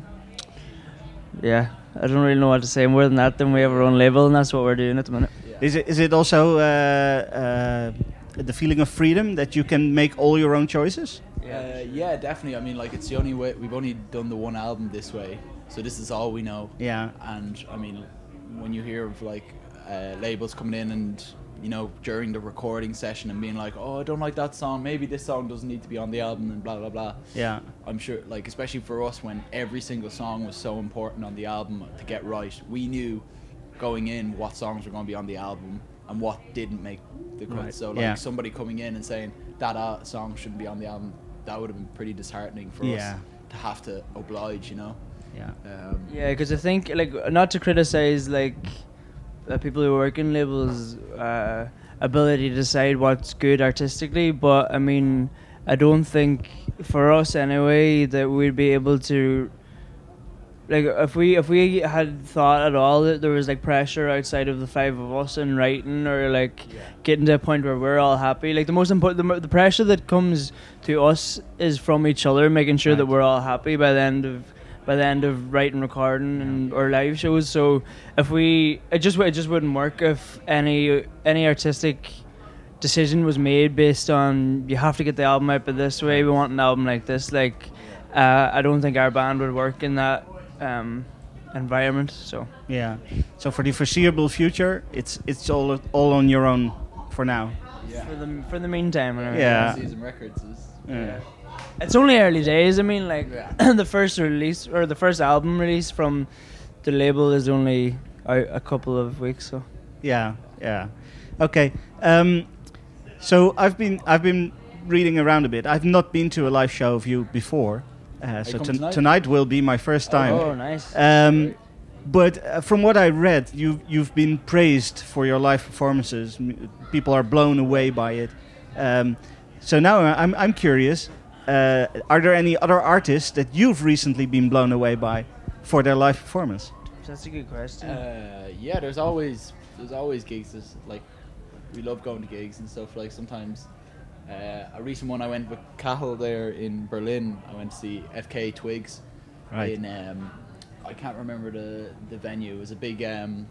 yeah, I don't really know what to say more than that. Then we have our own label, and that's what we're doing at the minute. Yeah. Is it is it also uh, uh, the feeling of freedom that you can make all your own choices? Uh, yeah, definitely. I mean, like it's the only way. We've only done the one album this way, so this is all we know. Yeah. And I mean, when you hear of like uh, labels coming in and you know during the recording session and being like, oh, I don't like that song. Maybe this song doesn't need to be on the album and blah blah blah. Yeah. I'm sure, like especially for us, when every single song was so important on the album to get right, we knew going in what songs were going to be on the album and what didn't make the cut. Right. So like Yeah. somebody coming in and saying that uh, song shouldn't be on the album, that would have been pretty disheartening for Yeah. us to have to oblige, you know. Yeah. Um, Yeah, because I think like not to criticize like uh, people who work in labels' uh, ability to decide what's good artistically, but I mean, I don't think for us anyway that we'd be able to. Like if we if we had thought at all that there was like pressure outside of the five of us in writing or like Yeah. getting to a point where we're all happy, like the most important the, mo- the pressure that comes to us is from each other, making sure that Right. we're all happy by the end of by the end of writing, recording, and or live shows. So if we it just it just wouldn't work if any any artistic decision was made based on you have to get the album out by this way, we want an album like this. Like uh, I don't think our band would work in that um, environment. So Yeah. So for the foreseeable future, it's it's all all on your own for now. yeah. for the for the meantime, anyway. Yeah. Season Records is. Yeah. It's only early days. I mean, like Yeah. the first release or the first album release from the label is only out a couple of weeks. So Yeah. Yeah. Okay. Um, so I've been I've been reading around a bit. I've not been to a live show of you before. Uh, so coming ton- tonight? tonight will be my first time. oh, nice. Um, but uh, from what I read, you you've been praised for your live performances. M- people are blown away by it. Um, so now I'm I'm curious. Uh, are there any other artists that you've recently been blown away by for their live performance? That's a good question. Uh, yeah, there's always there's always gigs. There's, like we love going to gigs and stuff. Like sometimes uh, a recent one I went with Cahill there in Berlin. I went to see F K Twigs Right. in um, I can't remember the the venue. It was a big um,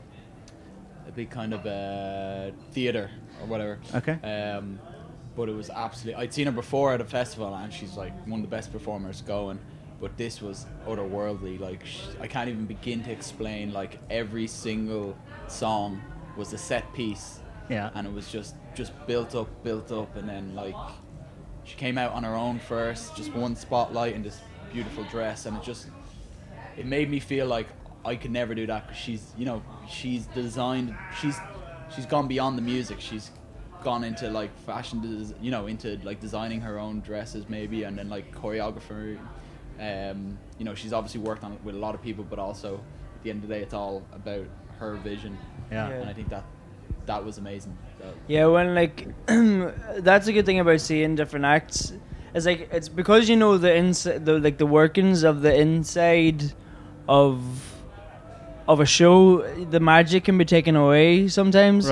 a big kind of uh, theater or whatever. Okay. Um, but it was absolutely. I'd seen her before at a festival, and she's like one of the best performers going. But this was otherworldly. Like sh- I can't even begin to explain. Like every single song was a set piece, Yeah. and it was just just built up, built up, and then like she came out on her own first, just one spotlight in this beautiful dress, and it just it made me feel like I could never do that because she's you know she's designed she's she's gone beyond the music. She's gone into like fashion, des- you know, into like designing her own dresses maybe, and then like choreographer. Um, you know, she's obviously worked on it with a lot of people, but also at the end of the day, it's all about her vision. Yeah. And I think that that was amazing. That- Yeah, when like that's a good thing about seeing different acts. It's like it's because you know the inside, the like the workings of the inside of of a show. The magic can be taken away sometimes. Right.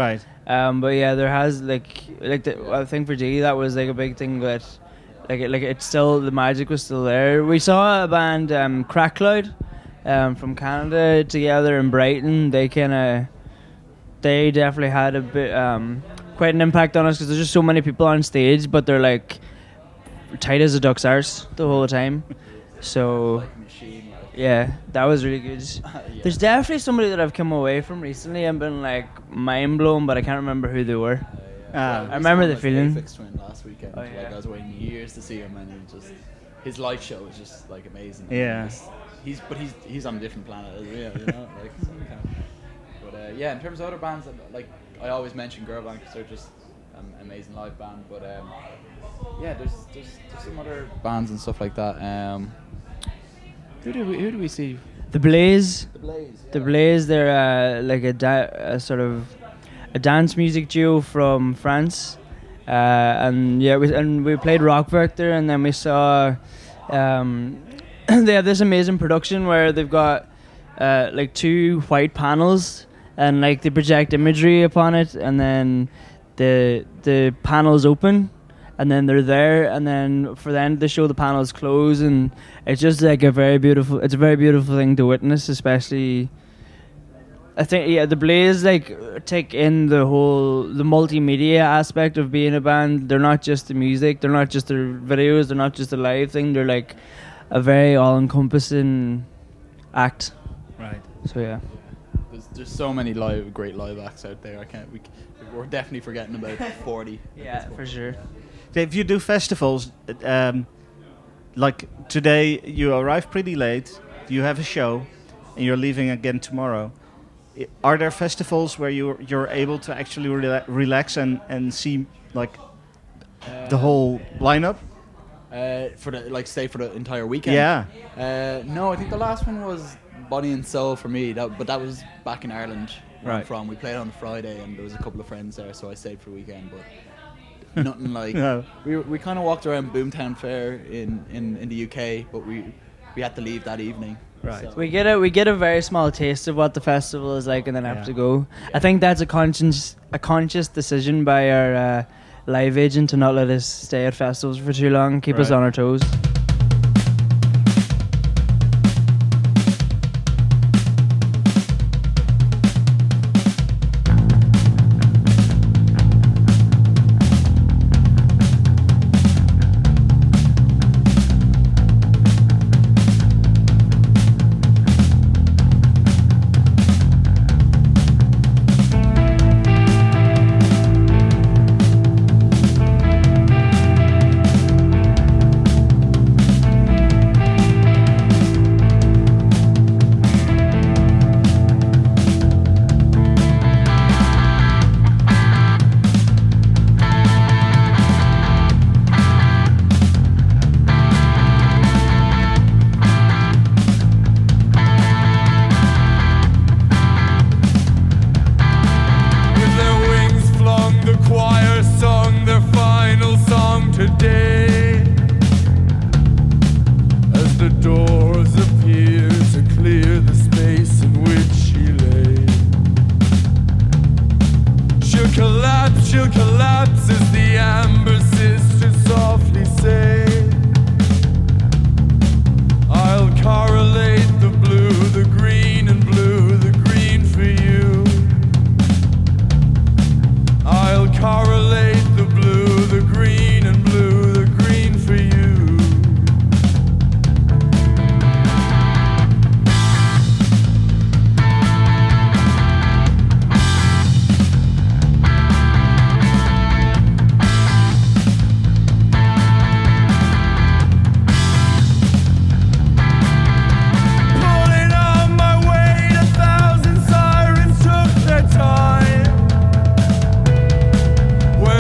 Um, but yeah, there has like like the, I think for G that was like a big thing that like it, like it's still the magic was still there. We saw a band um, Crack Cloud um, from Canada together in Brighton. They kind of they definitely had a bit um, quite an impact on us because there's just so many people on stage, but they're like tight as a duck's arse the whole time. So. Like machine, like. Yeah, that was really good. Yeah. There's definitely somebody that I've come away from recently and been like mind blown, but I can't remember who they were. Uh, yeah. Ah. Well, I remember the we saw him, feeling. like, Aphex Twin last weekend. Oh, Like yeah. I was waiting years to see him, and he just his live show was just like amazing. Yeah. He's, he's but he's he's on a different planet as well, you know. Like, so kind of, but uh, yeah, in terms of other bands, like I always mention Girlband because they're just an amazing live band. But um, yeah, there's, there's there's some other bands and stuff like that. Um, who do we who do we see? The Blaze. The Blaze. The Blaze, they're uh, like a, da- a sort of a dance music duo from France. Uh, and yeah, we, and we played Rockwerk there, and then we saw um, they have this amazing production where they've got uh, like two white panels, and like they project imagery upon it, and then the the panels open, and then they're there, and then for the end of the show the panels close, and it's just like a very beautiful it's a very beautiful thing to witness, especially I think yeah the Blaze like take in the whole the multimedia aspect of being a band. They're not just the music, they're not just their videos, they're not just a live thing, they're like a very all-encompassing act. Right. So yeah. There's there's so many live great live acts out there. I can't we we're definitely forgetting about forty. Yeah, for sure. If you do festivals, um, like today you arrive pretty late, you have a show, and you're leaving again tomorrow. I- Are there festivals where you're you're able to actually rela- relax and, and see like the whole lineup? Uh, for the like stay for the entire weekend. Yeah. Uh, no, I think the last one was Body and Soul for me. That, but that was back in Ireland where I'm Right. from. We played on Friday, and there was a couple of friends there, so I stayed for the weekend. But nothing like No. we we kind of walked around Boomtown Fair in, in, in the U K, but we we had to leave that evening. Right. So- We get a we get a very small taste of what the festival is like, and then have Yeah. to go. I think that's a conscious a conscious decision by our uh, live agent to not let us stay at festivals for too long, keep us Right. on our toes. With their wings flung, the choir sung their final song today. As the doors appear to clear the space in which she lay. She'll collapse, she'll collapse as the amber sisters softly say. I'll correlate the blue, the green and blue, the green for you. I'll correlate the blue, the green and blue, the green for you. Pulling on my weight, a thousand sirens took their time.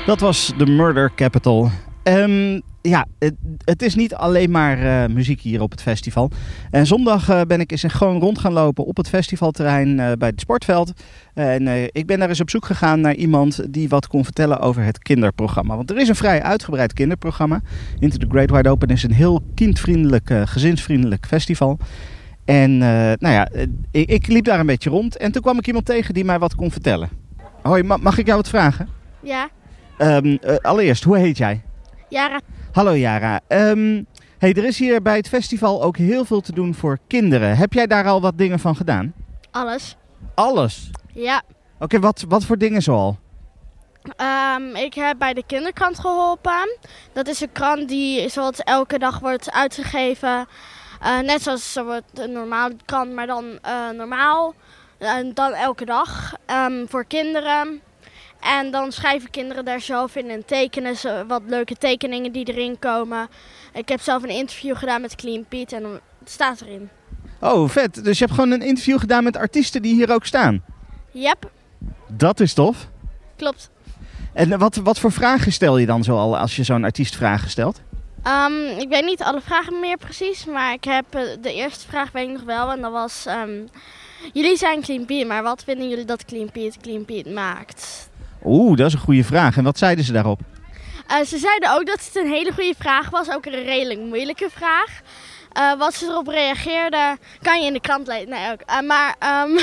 Dat was de Murder Capital. Um, ja, het, het is niet alleen maar uh, muziek hier op het festival. En zondag uh, ben ik eens gewoon rond gaan lopen op het festivalterrein uh, bij het sportveld. En uh, ik ben daar eens op zoek gegaan naar iemand die wat kon vertellen over het kinderprogramma. Want er is een vrij uitgebreid kinderprogramma. Into the Great Wide Open is een heel kindvriendelijk, uh, gezinsvriendelijk festival. En uh, nou ja, uh, ik, ik liep daar een beetje rond en toen kwam ik iemand tegen die mij wat kon vertellen. Hoi, ma- mag ik jou wat vragen? Ja. Um, uh, allereerst, hoe heet jij? Jara. Hallo Jara. Um, hey, er is hier bij het festival ook heel veel te doen voor kinderen. Heb jij daar al wat dingen van gedaan? Alles. Alles? Ja. Oké, okay, wat, wat voor dingen zoal? Um, ik heb bij de kinderkrant geholpen. Dat is een krant die zoals elke dag wordt uitgegeven. Uh, net zoals zo wordt een normale krant, maar dan uh, normaal. En uh, dan elke dag um, voor kinderen. En dan schrijven kinderen daar zelf in en tekenen ze wat leuke tekeningen die erin komen. Ik heb zelf een interview gedaan met Clean Pete en het staat erin. Oh, vet. Dus je hebt gewoon een interview gedaan met artiesten die hier ook staan? Yep. Dat is tof. Klopt. En wat, wat voor vragen stel je dan zoal als je zo'n artiest vragen stelt? Um, ik weet niet alle vragen meer precies, maar ik heb uh, de eerste vraag weet ik nog wel. En dat was, um, jullie zijn Clean Pete, maar wat vinden jullie dat Clean Pete Clean Pete maakt? Oeh, dat is een goede vraag. En wat zeiden ze daarop? Uh, ze zeiden ook dat het een hele goede vraag was, ook een redelijk moeilijke vraag. Uh, wat ze erop reageerden, kan je in de krant lezen. Nee, ook. Uh, maar um,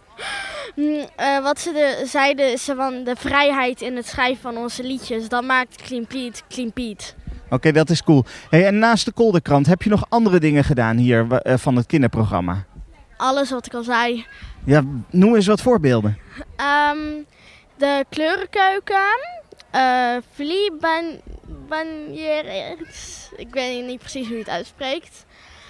uh, wat ze de, zeiden is van de vrijheid in het schrijven van onze liedjes. Dat maakt Clean Pete Clean Pete. Oké, okay, dat is cool. Hey, en naast de Kolderkrant, heb je nog andere dingen gedaan hier uh, van het kinderprogramma? Alles wat ik al zei. Ja, noem eens wat voorbeelden. Um, de kleurenkeuken, uh, vlieban, ik weet niet precies hoe je het uitspreekt.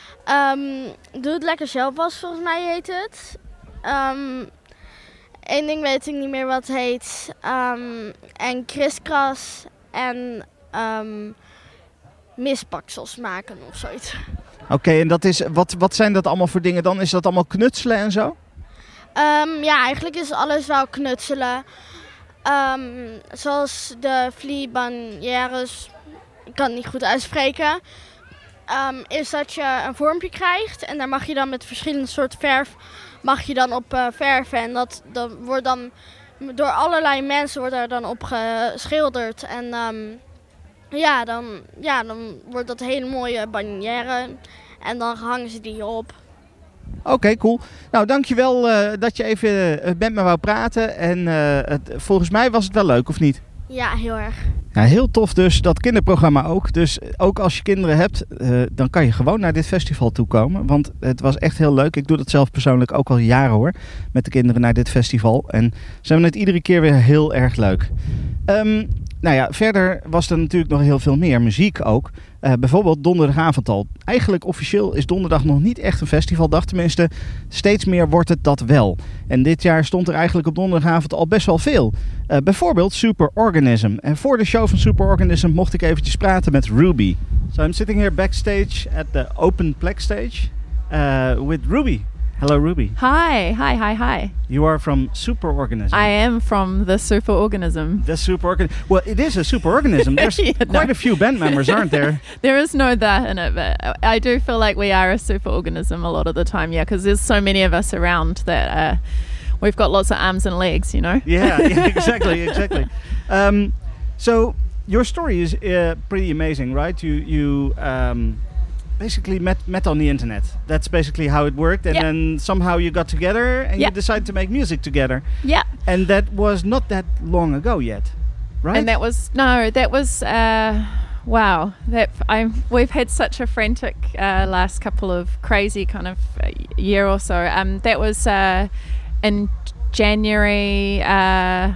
Um, doe het lekker zelf was, volgens mij heet het. Um, Eén ding weet ik niet meer wat het heet. Um, en kriskras en um, misbaksels maken of zoiets. Oké, okay, en dat is, wat, wat zijn dat allemaal voor dingen dan? Is dat allemaal knutselen en zo? Um, ja, eigenlijk is alles wel knutselen. Um, zoals de vliebanjeres, ik kan het niet goed uitspreken. Um, is dat je een vormpje krijgt en daar mag je dan met verschillende soorten verf mag je dan op uh, verven. En dat, dat wordt dan door allerlei mensen wordt daar dan op geschilderd. En um, ja, dan, ja, dan wordt dat een hele mooie bannière en dan hangen ze die op. Oké, okay, cool. Nou, dankjewel uh, dat je even uh, met me wou praten. En uh, het, volgens mij was het wel leuk, of niet? Ja, heel erg. Ja, heel tof dus, dat kinderprogramma ook. Dus ook als je kinderen hebt, uh, dan kan je gewoon naar dit festival toekomen. Want het was echt heel leuk. Ik doe dat zelf persoonlijk ook al jaren hoor. Met de kinderen naar dit festival. En ze hebben het iedere keer weer heel erg leuk. Um, nou ja, verder was er natuurlijk nog heel veel meer. Muziek ook. Uh, bijvoorbeeld donderdagavond al. Eigenlijk officieel is donderdag nog niet echt een festivaldag. Tenminste, steeds meer wordt het dat wel. En dit jaar stond er eigenlijk op donderdagavond al best wel veel. Uh, bijvoorbeeld Superorganism. En voor de show van Superorganism mocht ik eventjes praten met Ruby. So I'm sitting here backstage at the Open Plex stage uh, with Ruby. Hello, Ruby. Hi, hi, hi, hi. You are from Superorganism. I am from the Superorganism. The Superorganism. Well, it is a superorganism. There's yeah, quite no. a few band members, aren't there? There is no that in it, but I do feel like we are a superorganism a lot of the time, yeah, because there's so many of us around that uh, we've got lots of arms and legs, you know? Yeah, yeah exactly, exactly. Um, so your story is uh, pretty amazing, right? You you um, basically met met on the internet. That's basically how it worked, and yeah. then somehow you got together and yeah. you decided to make music together. Yeah. And that was not that long ago yet, right? And that was no, that was uh, wow. That I we've had such a frantic uh, last couple of crazy kind of year or so. Um, that was uh, in January. Uh,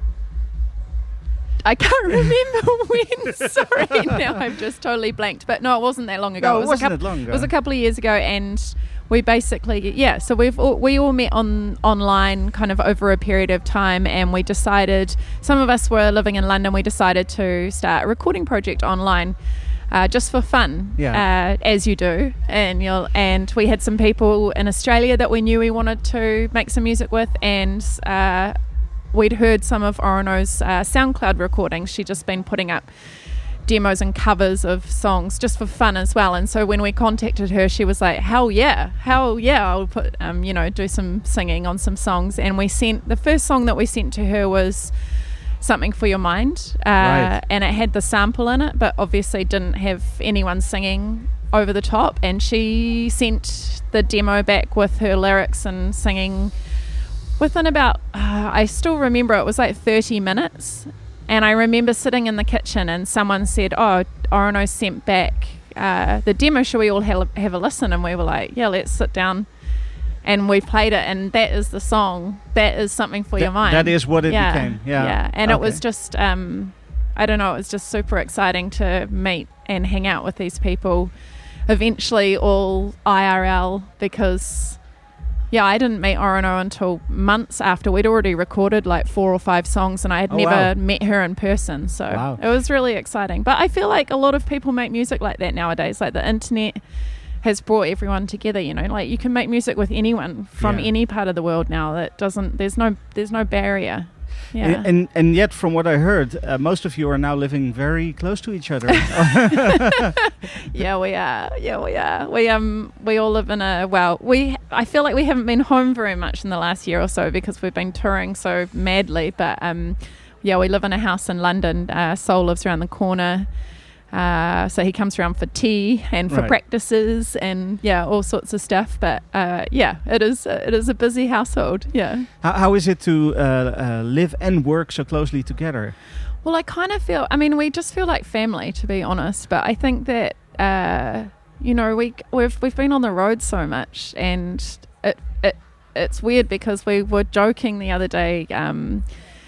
I can't remember when. Sorry, now I've just totally blanked. But no, it wasn't that long ago. No, it was wasn't a couple, it long ago? It was a couple of years ago, and we basically, yeah. So we've all, we all met on online, kind of over a period of time, and we decided. Some of us were living in London. We decided to start a recording project online. Uh, just for fun, yeah. uh, as you do, and you'll, and we had some people in Australia that we knew we wanted to make some music with, and uh, we'd heard some of Orono's uh, SoundCloud recordings. She'd just been putting up demos and covers of songs just for fun as well. And so when we contacted her, she was like, hell yeah, hell yeah, I'll put, um, you know, do some singing on some songs. And we sent, the first song that we sent to her was Something for Your Mind. Uh, Right. And it had the sample in it, but obviously didn't have anyone singing over the top. And she sent the demo back with her lyrics and singing within about, uh, I still remember it was like thirty minutes. And I remember sitting in the kitchen and someone said, oh, Orono sent back uh, the demo, should we all have, have a listen? And we were like, yeah, let's sit down. And we played it, and that is the song. That is Something for Th- Your Mind. that is what it yeah, became, yeah. Yeah, and it Okay. was just, um, I don't know, it was just super exciting to meet and hang out with these people, eventually all I R L, because... Yeah, I didn't meet Orono until months after. We'd already recorded like four or five songs, and I had Oh, never wow. met her in person. So Wow. it was really exciting. But I feel like a lot of people make music like that nowadays. Like the internet has brought everyone together, you know. Like you can make music with anyone from Yeah. any part of the world now. That doesn't, there's no, there's no barrier. Yeah. And, and and yet, from what I heard, uh, most of you are now living very close to each other. Yeah, we are. Yeah, we are. We um we all live in a well. We I feel like we haven't been home very much in the last year or so because we've been touring so madly. But um, yeah, we live in a house in London. Uh, Sol lives around the corner. Uh, so he comes around for tea and for Right. practices and yeah, all sorts of stuff. But uh, yeah, it is uh, it is a busy household. Yeah. how, how is it to uh, uh, live and work so closely together? Well, I kind of feel, I mean, we just feel like family, to be honest. But I think that, uh, you know, we, we've we've been on the road so much, and it it it's weird because we were joking the other day. Um,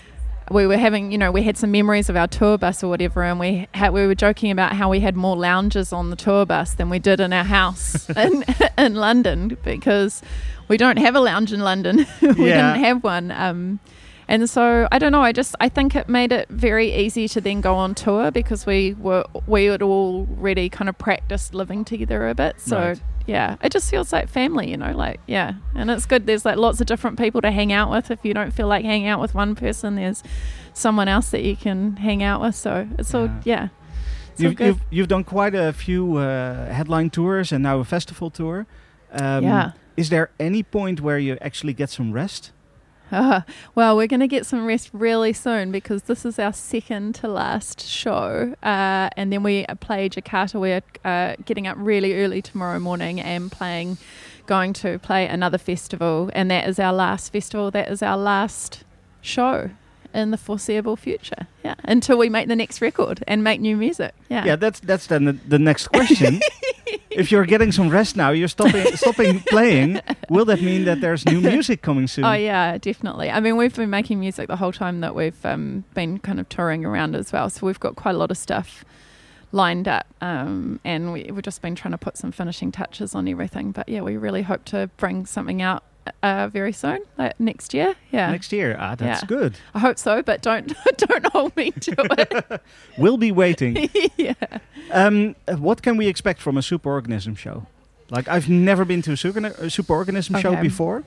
we were having, you know, we had some memories of our tour bus or whatever, and we had, we were joking about how we had more lounges on the tour bus than we did in our house in in London, because we don't have a lounge in London. we Yeah. didn't have one. Um, And so I don't know. I just I think it made it very easy to then go on tour because we were we had already kind of practiced living together a bit. So Right. yeah, it just feels like family, you know. Like yeah, and it's good. There's like lots of different people to hang out with. If you don't feel like hanging out with one person, there's someone else that you can hang out with. So it's all yeah. It's all You've, good. you've you've done quite a few uh, headline tours and now a festival tour. Um, Yeah. Is there any point where you actually get some rest? Uh, well, we're going to get some rest really soon because this is our second to last show. Uh, and then we play Jakarta. We're uh, getting up really early tomorrow morning and playing, going to play another festival. And that is our last festival. That is our last show in the foreseeable future. Yeah. Until we make the next record and make new music. Yeah. Yeah, that's that's then the, the next question. If you're getting some rest now, you're stopping stopping playing. Will that mean that there's new music coming soon? Oh yeah, definitely. I mean, we've been making music the whole time that we've um, been kind of touring around as well. So we've got quite a lot of stuff lined up, um, and we, we've just been trying to put some finishing touches on everything. But yeah, we really hope to bring something out uh, very soon, like next year. Yeah, Next year. Ah, that's Yeah. good. I hope so, but don't don't hold me to it. We'll be waiting. Yeah. Um, uh, what can we expect from a Superorganism show? Like, I've never been to a, super, a Superorganism show Okay. before.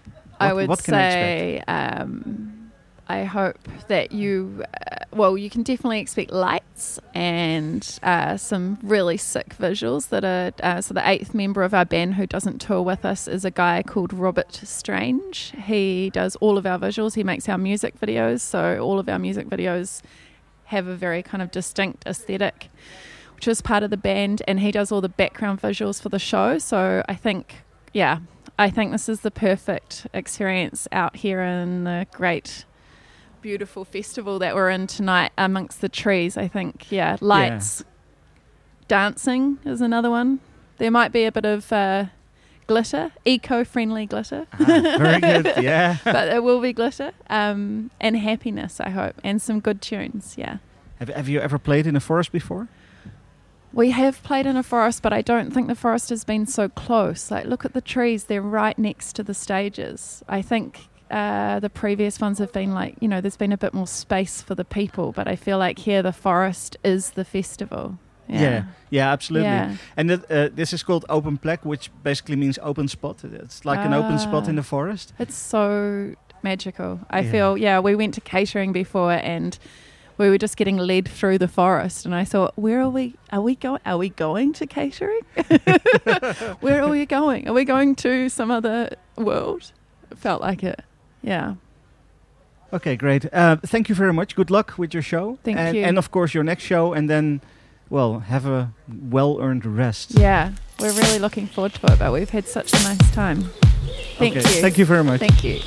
I What- would what can I expect? say um, I hope that you, uh, well, you can definitely expect lights and uh, some really sick visuals that are, uh, so the eighth member of our band who doesn't tour with us is a guy called Robert Strange. He does all of our visuals. He makes our music videos. So all of our music videos have a very kind of distinct aesthetic, which is part of the band, and he does all the background visuals for the show. So I think, yeah, I think this is the perfect experience out here in the great, beautiful festival that we're in tonight amongst the trees. I think, yeah, lights, dancing is another one. There might be a bit of uh, glitter, eco-friendly glitter. Ah, very good, yeah. But there will be glitter, um, and happiness, I hope, and some good tunes, yeah. Have, have you ever played in a forest before? We have played in a forest, but I don't think the forest has been so close. Like, look at the trees. They're right next to the stages. I think uh, the previous ones have been like, you know, there's been a bit more space for the people, but I feel like here the forest is the festival. Yeah, yeah, yeah, absolutely. Yeah. And that, uh, this is called open plek, which basically means open spot. It's like an open spot Ah. in the forest. It's so magical. I Yeah. feel, yeah, we went to catering before and we were just getting led through the forest, and I thought, where are we? Are we going? Are we going to catering? Where are we going? Are we going to some other world? It felt like it. Yeah. Okay, great. Uh, thank you very much. Good luck with your show. Thank and, you. And of course your next show, and then, well, have a well-earned rest. Yeah, we're really looking forward to it, but we've had such a nice time. Thank Okay, you. thank you very much. Thank you.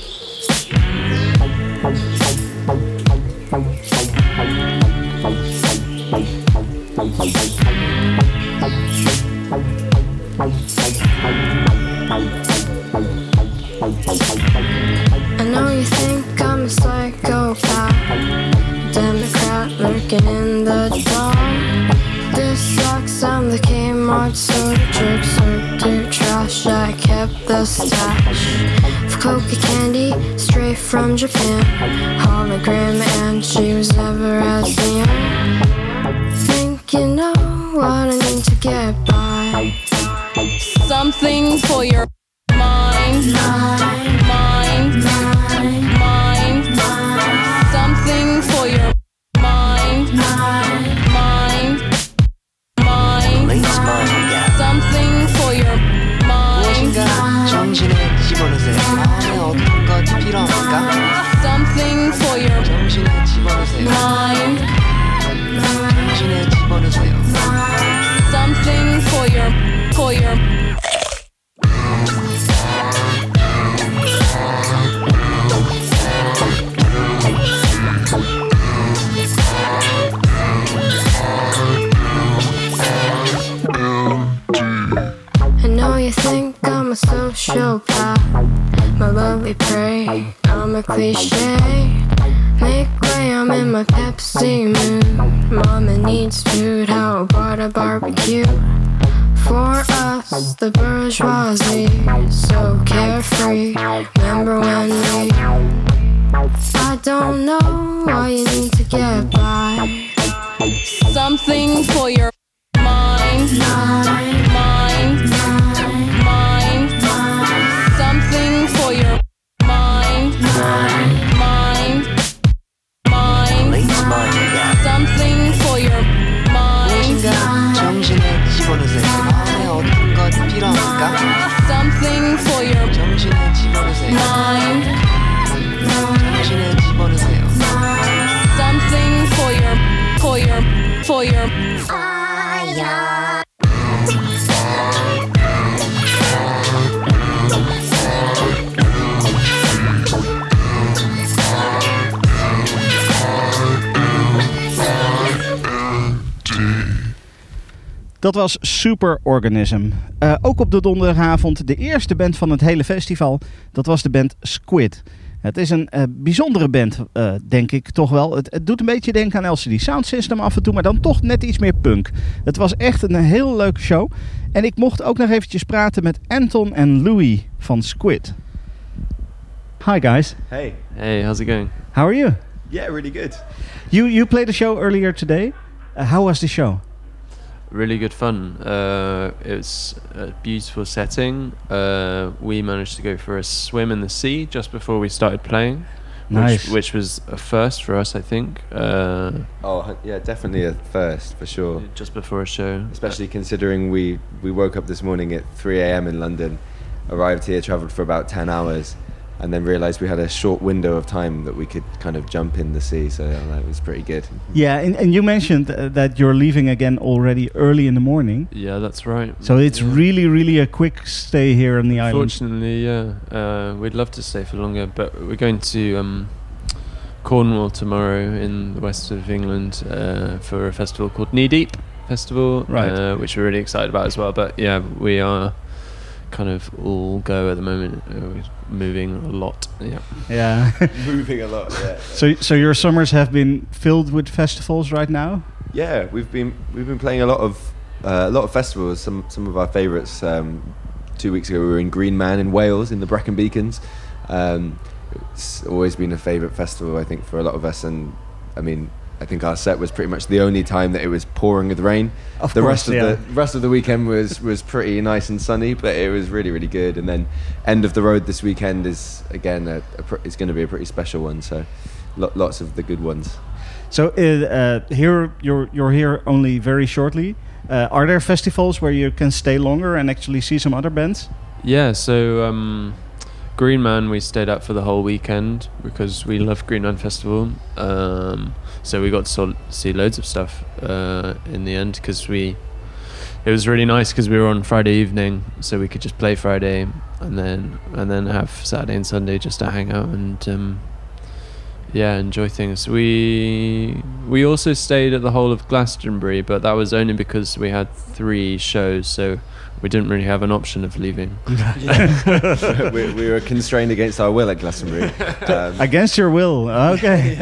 I know you think I'm a psychopath, Democrat lurking in the dark. This sucks, I'm the Kmart soda jerk, served to trash. I kept the stash of coca candy straight from Japan. Hologram, and she was never as young. Think you know what I need to get by. Something for your mind, mind, mind, mind, something for your mind, mind, mind, something for your mind, 정신에 집어넣으세요. 마음에 어떤 것이 필요합니까? something for your 정신에 집어넣으세요. mind, 정신에 집어넣으세요. something for your, for your. I know you think I'm a sociopath, my lovely prey, I'm a cliche. Make way, I'm in my Pepsi mood. Mama needs food, how about a barbecue? For us, the bourgeoisie, so carefree. Remember when we, I don't know why you need to get by. Something for your mind, mind, mind, mind, something for your mind, mind, mind, something for your mind, 정신에 집어넣으세요. 마음에 어떤 것이 필요합니까? something for your 정신에 집어넣으세요. mind, 정신에 집어넣으세요. something for your, for your, for your. Dat was Superorganism. Uh, ook op de donderdagavond de eerste band van het hele festival. Dat was de band Squid. Het is een uh, bijzondere band, uh, denk ik toch wel. Het, het doet een beetje denken aan L C D Sound System af en toe, maar dan toch net iets meer punk. Het was echt een heel leuke show. En ik mocht ook nog eventjes praten met Anton en Louis van Squid. Hi guys. Hey. Hey, how's it going? How are you? Yeah, really good. You you played a show earlier today. Uh, how was the show? Really good fun. Uh, it was a beautiful setting. Uh, we managed to go for a swim in the sea just before we started playing. Nice. Which, which was a first for us, I think. Uh, oh, yeah, definitely a first, for sure. Just before a show. Especially considering we, we woke up this morning at three a.m. in London, arrived here, travelled for about ten hours, and then realised we had a short window of time that we could kind of jump in the sea, so uh, that was pretty good. Yeah, and, and you mentioned uh, that you're leaving again already early in the morning. Yeah, that's right. So it's yeah. really, really a quick stay here on the island. Fortunately, yeah. Uh, we'd love to stay for longer, but we're going to um, Cornwall tomorrow in the west of England uh, for a festival called Knee Deep Festival, right. uh, which we're really excited about as well. But yeah, we are kind of all go at the moment. Uh, we're moving a lot. Yeah. Yeah. Moving a lot. Yeah. So, so your summers have been filled with festivals right now? Yeah, we've been we've been playing a lot of uh, a lot of festivals. Some some of our favourites. Um, two weeks ago, we were in Green Man in Wales in the Brecon Beacons. Um, it's always been a favourite festival, I think, for a lot of us. And I mean, I think our set was pretty much the only time that it was pouring with rain. Of the course, rest of yeah. the rest of the weekend was was pretty nice and sunny, but it was really really good. And then end of the road this weekend is again a, a pr- it's going to be a pretty special one. So lo- lots of the good ones. So uh, uh, here you're you're here only very shortly. Uh, are there festivals where you can stay longer and actually see some other bands? Yeah, so um, Green Man we stayed up for the whole weekend because we love Green Man Festival. Um, so we got to sol- see loads of stuff uh, in the end because we. It was really nice because we were on Friday evening, so we could just play Friday and then and then have Saturday and Sunday just to hang out and um, yeah, enjoy things. We we also stayed at the whole of Glastonbury, but that was only because we had three shows, so we didn't really have an option of leaving. we, we were constrained against our will at Glastonbury. Um, Against your will, okay.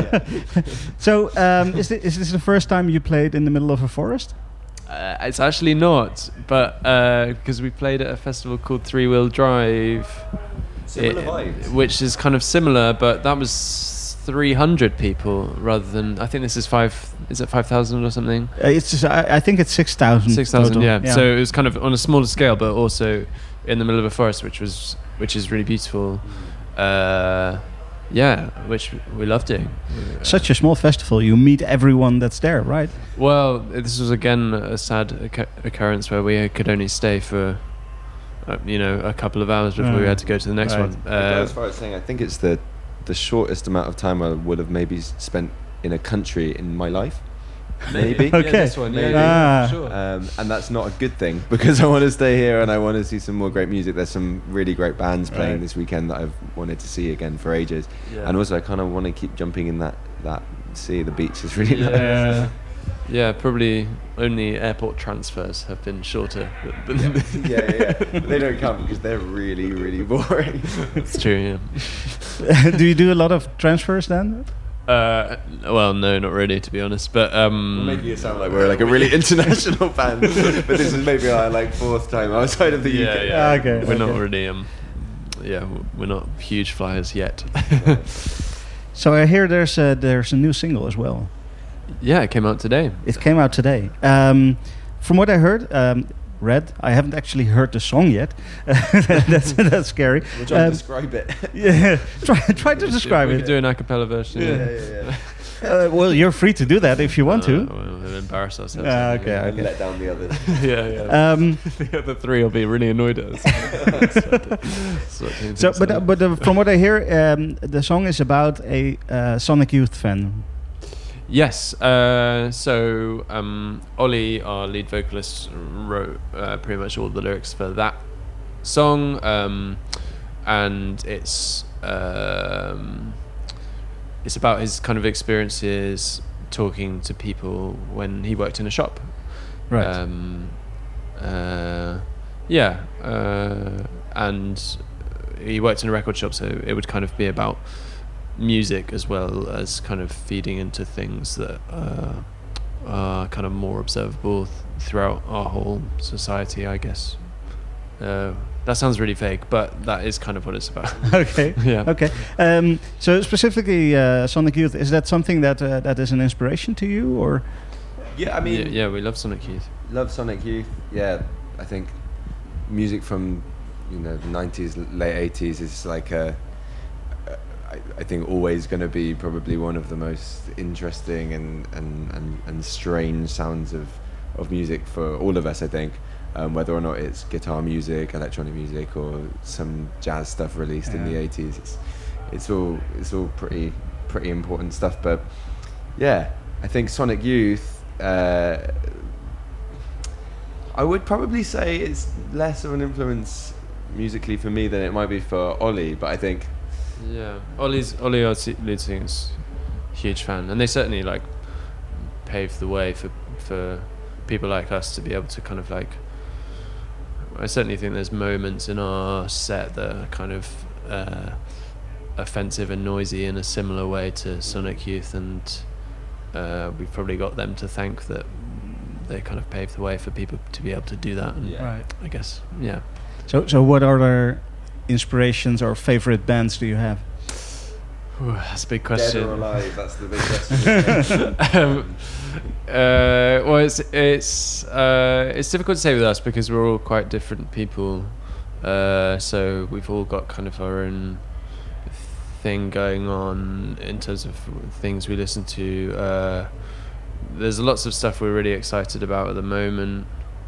So um, is, this, is this the first time you played in the middle of a forest? Uh, it's actually not, but because we played at a festival called Three Wheel Drive, Similar vibes. which is kind of similar, but that was three hundred people rather than. I think this is five. Is it five thousand or something? Uh, it's just, I, I think it's six thousand. Six thousand, yeah. yeah. So it was kind of on a smaller scale, but also in the middle of a forest, which was which is really beautiful. Uh, yeah, which we love doing. Such a small festival, you meet everyone that's there, right? Well, this was again a sad occur- occurrence where we could only stay for, uh, you know, a couple of hours before Mm. we had to go to the next Right. one. I Uh, go as far as saying I think it's the the shortest amount of time I would have maybe s- spent in a country in my life. Maybe. Yeah, Okay. this one, yeah, Maybe. yeah, Ah. for sure. Um, and that's not a good thing because I want to stay here and I want to see some more great music. There's some really great bands playing Right. this weekend that I've wanted to see again for ages. Yeah. And also I kind of want to keep jumping in that, that sea. The beach is really nice. Yeah. Yeah, probably only airport transfers have been shorter. Than yeah, yeah, yeah. They don't count because they're really, really boring. It's true, yeah. Do you do a lot of transfers then? Uh, well, no, not really, to be honest. But um, We're making it sound like we're like a really international band, but this is maybe our like fourth time outside of the yeah, U K. yeah. Okay, We're not okay. really, um, yeah, w- we're not huge flyers yet. So I hear there's a, there's a new single as well. Yeah, it came out today. It came out today. Um, from what I heard, um, read, I haven't actually heard the song yet. that's that's scary. We'll try and Um, describe it. Yeah, try try to describe we it. could do an a cappella version. Yeah, yeah, yeah. Uh, well, you're free to do that if you want Uh, to. well, we'll embarrass ourselves. Ah, okay, And okay. let down the others. yeah, yeah. Um, the other three will be really annoyed at us. Sort of So, but uh, but uh, from what I hear, um, the song is about a uh, Sonic Youth fan. Yes. Uh, so um, Ollie, our lead vocalist, wrote uh, pretty much all the lyrics for that song, um, and it's um, it's about his kind of experiences talking to people when he worked in a shop. Right. Um, uh, yeah. Uh, and he worked in a record shop, so it would kind of be about music as well as kind of feeding into things that uh, are kind of more observable th- throughout our whole society, I guess. Uh, that sounds really vague, but that is kind of what it's about. Okay. Yeah. Okay. Um, so specifically, uh, Sonic Youth, is that something that uh, that is an inspiration to you, or? Yeah, I mean, yeah, yeah, we love Sonic Youth. Love Sonic Youth. Yeah, I think music from you know the nineties, late eighties is like a. I, I think always going to be probably one of the most interesting and, and, and, and strange sounds of, of music for all of us, I think. Um, whether or not it's guitar music, electronic music, or some jazz stuff released in the Yeah. eighties, it's it's all it's all pretty pretty important stuff. But yeah, I think Sonic Youth. Uh, I would probably say it's less of an influence musically for me than it might be for Ollie. But I think. Yeah, Ollie's Ollie, our se- lead singer, is a huge fan, and they certainly like paved the way for for people like us to be able to kind of like. I certainly think there's moments in our set that are kind of uh, offensive and noisy in a similar way to Sonic Youth, and uh, we've probably got them to thank that they kind of paved the way for people to be able to do that. And Yeah. Right. I guess, yeah. So, so what other inspirations or favorite bands do you have? Ooh, that's a big question. Dead or alive? That's the big question. um, uh, well, it's it's uh, it's difficult to say with us because we're all quite different people. Uh, so we've all got kind of our own thing going on in terms of things we listen to. Uh, there's lots of stuff we're really excited about at the moment.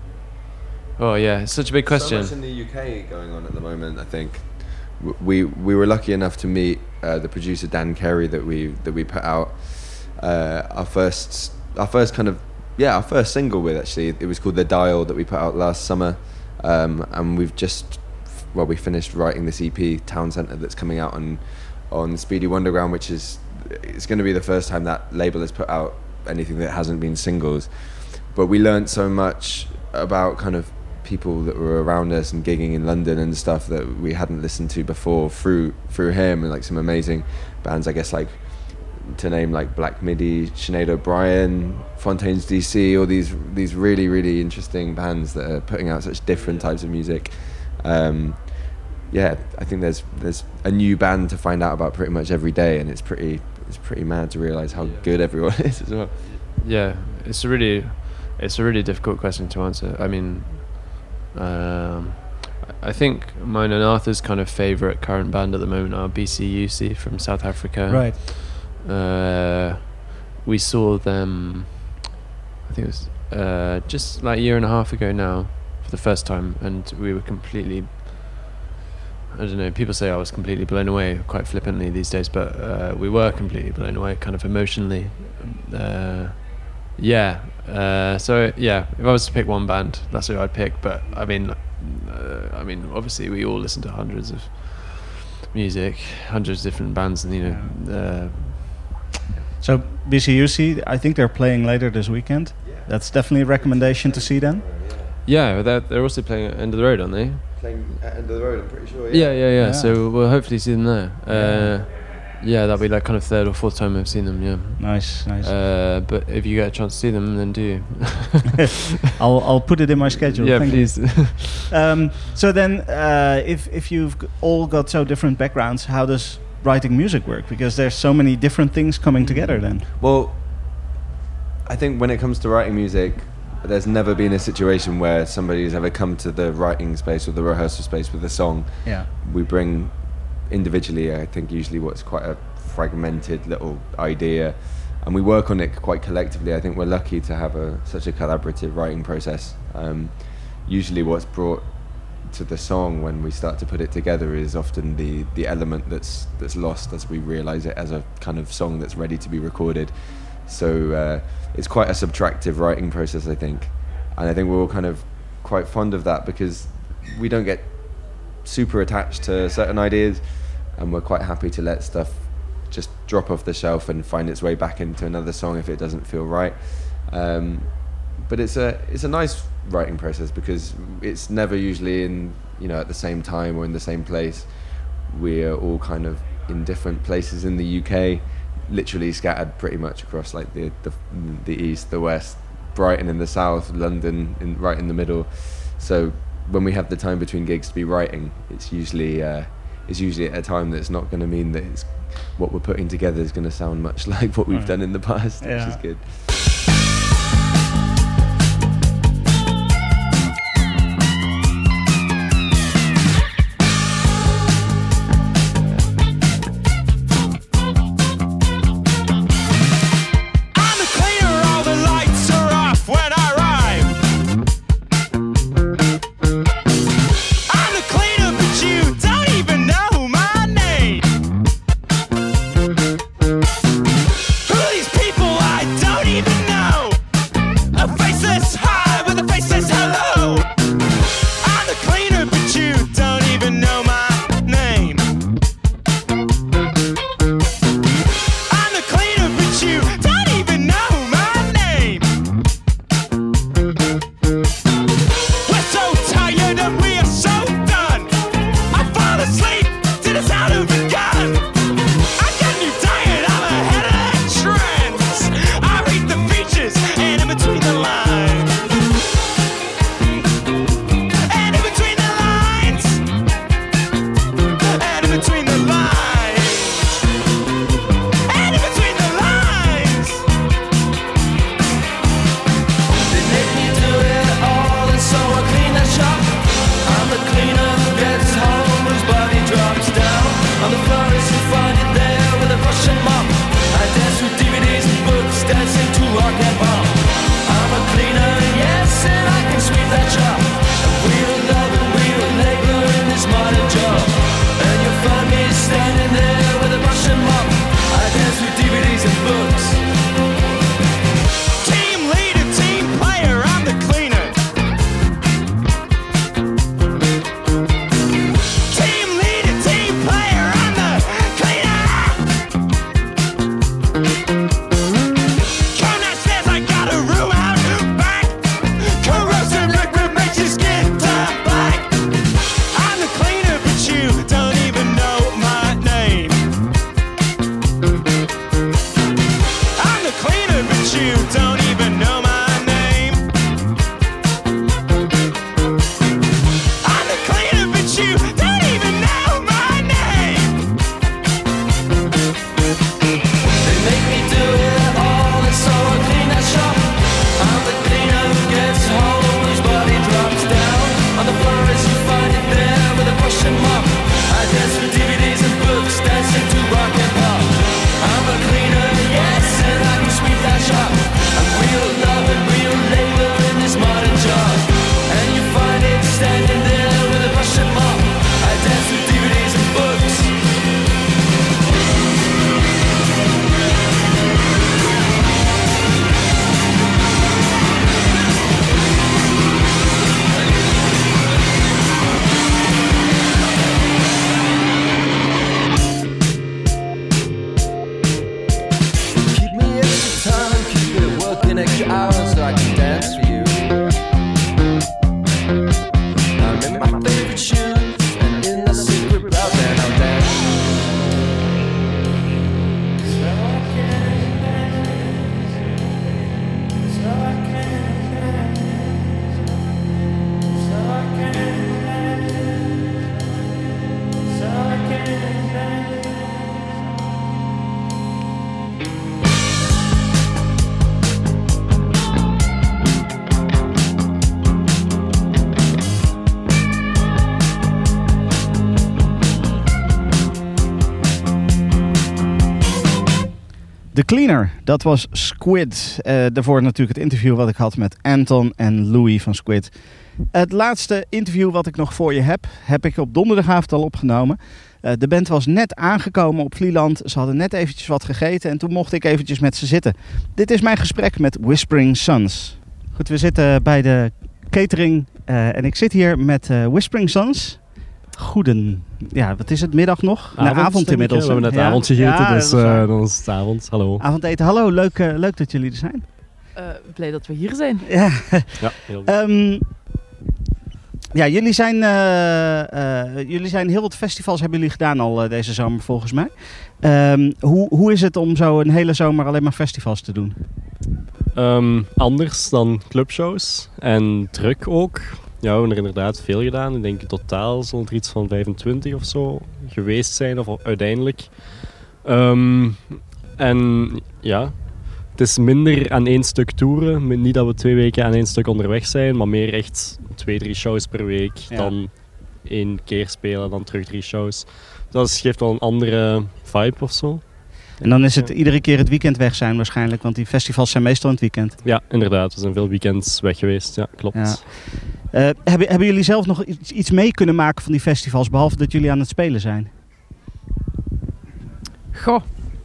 Oh yeah, it's such a big question. So much in the U K going on at the moment. I think we we were lucky enough to meet uh, the producer Dan Carey that we that we put out uh, our first our first kind of yeah our first single with. Actually, it was called The Dial that we put out last summer, um, and we've just well we finished writing this E P Town Centre that's coming out on on Speedy Wonderground, which is it's going to be the first time that label has put out anything that hasn't been singles. But we learned so much about kind of people that were around us and gigging in London and stuff that we hadn't listened to before through through him, and like some amazing bands, I guess, like to name like Black Midi, Sinead O'Brien, Fontaines D C, all these these really really interesting bands that are putting out such different types of music. Um, yeah, I think there's there's a new band to find out about pretty much every day, and it's pretty it's pretty mad to realise how yeah. good everyone is as well. Yeah, it's a really it's a really difficult question to answer. I mean. Um, I think mine and Arthur's kind of favourite current band at the moment are B C U C from South Africa. Right. Uh, we saw them, I think it was uh, just like a year and a half ago now, for the first time, and we were completely. I don't know. People say I was completely blown away, quite flippantly these days, but uh, we were completely blown away, kind of emotionally. Uh, yeah. Uh, so yeah, if I was to pick one band, that's who I'd pick. But I mean, uh, I mean, obviously we all listen to hundreds of music, hundreds of different bands, and you know. Yeah. Uh, so B C U C, I think they're playing later this weekend. Yeah. That's definitely a recommendation to see them. Yeah, they're they're also playing at End of the Road, aren't they? Playing at End of the Road, I'm pretty sure. Yeah, yeah, yeah. yeah. yeah. So we'll hopefully see them there. Uh, Yeah, that'll be like kind of third or fourth time I've seen them. Yeah. Nice, nice. Uh, but if you get a chance to see them, then do. I'll I'll put it in my schedule. Yeah, Thank please. um, so then, uh, if if you've all got so different backgrounds, how does writing music work? Because there's so many different things coming together. Then. Well, I think when it comes to writing music, there's never been a situation where somebody's ever come to the writing space or the rehearsal space with a song. Yeah. We bring. Individually, I think usually what's quite a fragmented little idea, and we work on it quite collectively. I think we're lucky to have a such a collaborative writing process. Um, usually what's brought to the song when we start to put it together is often the the element that's that's lost as we realize it as a kind of song that's ready to be recorded. So uh, it's quite a subtractive writing process, I think, and I think we're all kind of quite fond of that because we don't get super attached to certain ideas, and we're quite happy to let stuff just drop off the shelf and find its way back into another song if it doesn't feel right. Um, but it's a it's a nice writing process because it's never usually in you know at the same time or in the same place. We're all kind of in different places in the U K, literally scattered pretty much across like the the, the east, the west, Brighton in the south, London in, right in the middle. So when we have the time between gigs to be writing, it's usually uh, it's usually at a time that's not going to mean that it's, what we're putting together is going to sound much like what we've right. done in the past, yeah. which is good. Who these people? I don't even you don't even know my name. I'm the cleaner, but you don't even know my name. They make me do it all, and so I clean that shop. I'm the cleaner who gets home, whose body drops down on the floor as you find it there with a brush and mop. I dance with D V Ds and books, dancing to rock and pop. I'm a cleaner, yes, and I can sweep that shop. I'm real love and real labor in this modern job. And you find it standing there with a brush and mop. I dance with D V Ds and books. Keep me extra time, keep me working extra hours so I can dance for you. I'm in my favorite shoes and in the secret route, and I'll dance. So I can dance, so I can dance, so I can dance, so I can dance. The Cleaner, dat was Squid. Uh, daarvoor natuurlijk het interview wat ik had met Anton en Louis van Squid. Het laatste interview wat ik nog voor je heb, heb ik op donderdagavond al opgenomen. Uh, de band was net aangekomen op Vlieland. Ze hadden net eventjes wat gegeten en toen mocht ik eventjes met ze zitten. Dit is mijn gesprek met Whispering Sons. Goed, we zitten bij de catering uh, en ik zit hier met uh, Whispering Sons. Goeden, ja, wat is het, middag nog? Avond, nee, avond inmiddels. We hebben net ja. avond gegeten, ja, dus uh, dan is het avond. Hallo. Avondeten, hallo, leuk, uh, leuk dat jullie er zijn. Uh, blij dat we hier zijn. Ja, ja heel um, ja jullie, zijn, uh, uh, jullie zijn heel wat festivals hebben jullie gedaan al uh, deze zomer volgens mij. Um, hoe, hoe is het om zo een hele zomer alleen maar festivals te doen? Um, anders dan clubshows en druk ook. Ja, we hebben er inderdaad veel gedaan. Ik denk in totaal zullen er iets van vijfentwintig of zo geweest zijn, of uiteindelijk. Um, en ja, het is minder aan één stuk toeren. Niet dat we twee weken aan één stuk onderweg zijn, maar meer echt twee, drie shows per week. Ja. Dan één keer spelen, dan terug drie shows. Dat geeft wel een andere vibe of zo. En dan is het iedere keer het weekend weg zijn waarschijnlijk, want die festivals zijn meestal in het weekend. Ja, inderdaad. We zijn veel weekends weg geweest. Ja, klopt. Ja. Uh, hebben, hebben jullie zelf nog iets, iets mee kunnen maken van die festivals, behalve dat jullie aan het spelen zijn? Goh.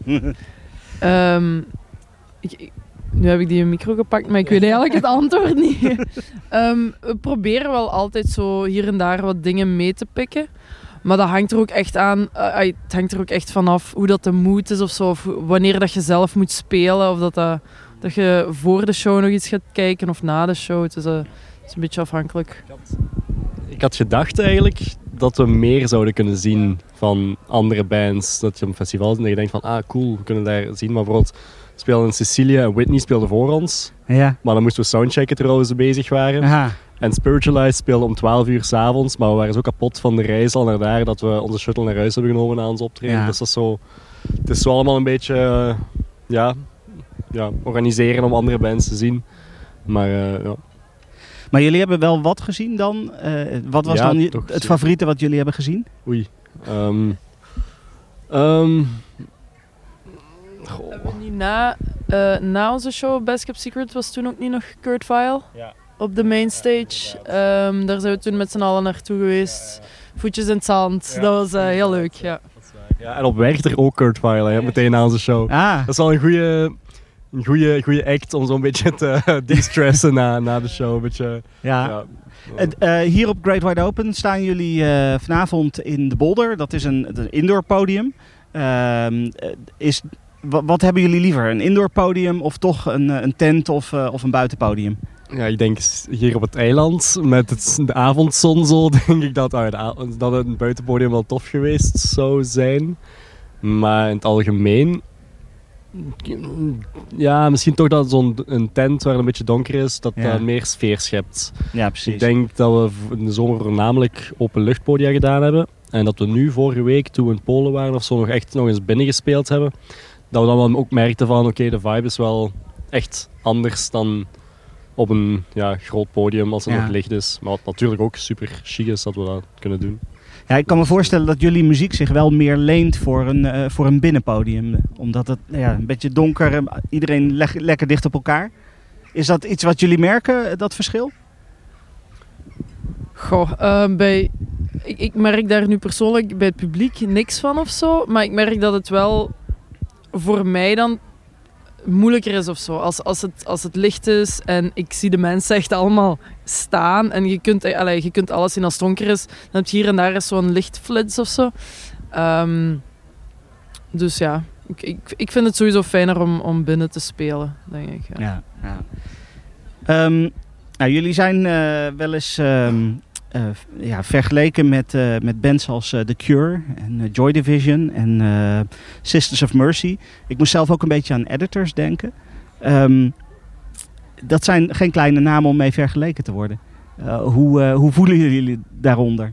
um, ik, ik, nu heb ik die micro gepakt, maar ik weet eigenlijk het antwoord niet. um, we proberen wel altijd zo hier en daar wat dingen mee te pikken. Maar dat hangt er ook echt aan, uh, het hangt er ook echt vanaf hoe dat de mood is of zo. Of wanneer dat je zelf moet spelen. Of dat, dat, dat je voor de show nog iets gaat kijken of na de show. Het is, uh, het is een beetje afhankelijk. Ik had gedacht eigenlijk dat we meer zouden kunnen zien van andere bands. Dat je op een festival zit en je denkt van, ah cool, we kunnen daar zien. Maar bijvoorbeeld, we speelden in Sicilië en Whitney speelde voor ons. Ja. Maar dan moesten we soundchecken terwijl we ze bezig waren. Aha. En Spiritualized speelde om twaalf uur 's avonds, maar we waren zo kapot van de reis al naar daar dat we onze shuttle naar huis hebben genomen na ons optreden. Ja. Dus dat is zo, het is zo allemaal een beetje uh, ja, ja, organiseren om andere bands te zien. Maar uh, ja. Maar jullie hebben wel wat gezien dan? Uh, wat was ja, dan je, toch, het favoriete wat jullie hebben gezien? Oei. Um, um, we hebben niet na, uh, na onze show Best Kept Secret was toen ook niet nog Kurt Vile? Ja. Op de mainstage. Um, daar zijn we toen met z'n allen naartoe geweest. Voetjes in het zand. Ja. Dat was uh, heel leuk, ja. Ja, en op Werchter ook Kurt Vile, hè, meteen na onze show. Ah. Dat is wel een goede, een goede, goede act om zo'n beetje te uh, de-stressen na, na de show. Een beetje, ja. ja. Uh, hier op Great Wide Open staan jullie uh, vanavond in de Boulder. Dat is een, een indoor podium. Uh, is, w- wat hebben jullie liever? Een indoor podium of toch een, een tent of, uh, of een buitenpodium? Ja, ik denk hier op het eiland met het, de avondzon zo, denk ik dat, uh, de, dat een buitenpodium wel tof geweest zou zijn. Maar in het algemeen Ja, misschien toch dat zo'n een tent waar het een beetje donker is, dat Ja. dat meer sfeer schept. Ja, precies. Ik denk dat we v- in de zomer voornamelijk openluchtpodia gedaan hebben. En dat we nu vorige week, toen we in Polen waren of zo, nog echt nog eens binnen gespeeld hebben. Dat we dan wel ook merkten van, oké, de vibe is wel echt anders dan op een ja, groot podium als er Ja. nog licht is. Maar wat natuurlijk ook super chic is dat we dat kunnen doen. Ja, ik kan me voorstellen dat jullie muziek zich wel meer leent voor een, eh, voor een binnenpodium. Omdat het ja, een beetje donker, eh, iedereen leg- lekker dicht op elkaar. Is dat iets wat jullie merken, eh, dat verschil? Goh, eh, bij, ik, ik merk daar nu persoonlijk bij het publiek niks van of zo. Maar ik merk dat het wel voor mij dan moeilijker is of zo. Als, als, het, als het licht is en ik zie de mensen echt allemaal staan. En je kunt, eh, allee, je kunt alles zien als het donker is. Dan heb je hier en daar eens zo'n lichtflits of zo. Ehm, dus ja, ik, ik, ik vind het sowieso fijner om, om binnen te spelen, denk ik. Ja. Ja, ja. Ehm, nou, jullie zijn eh, wel eens ehm, eh, ja, vergeleken met, eh, met bands als eh, The Cure en eh, Joy Division en eh, Sisters of Mercy. Ik moest zelf ook een beetje aan Editors denken. Ehm, dat zijn geen kleine namen om mee vergeleken te worden. Uh, hoe, uh, hoe voelen jullie daaronder?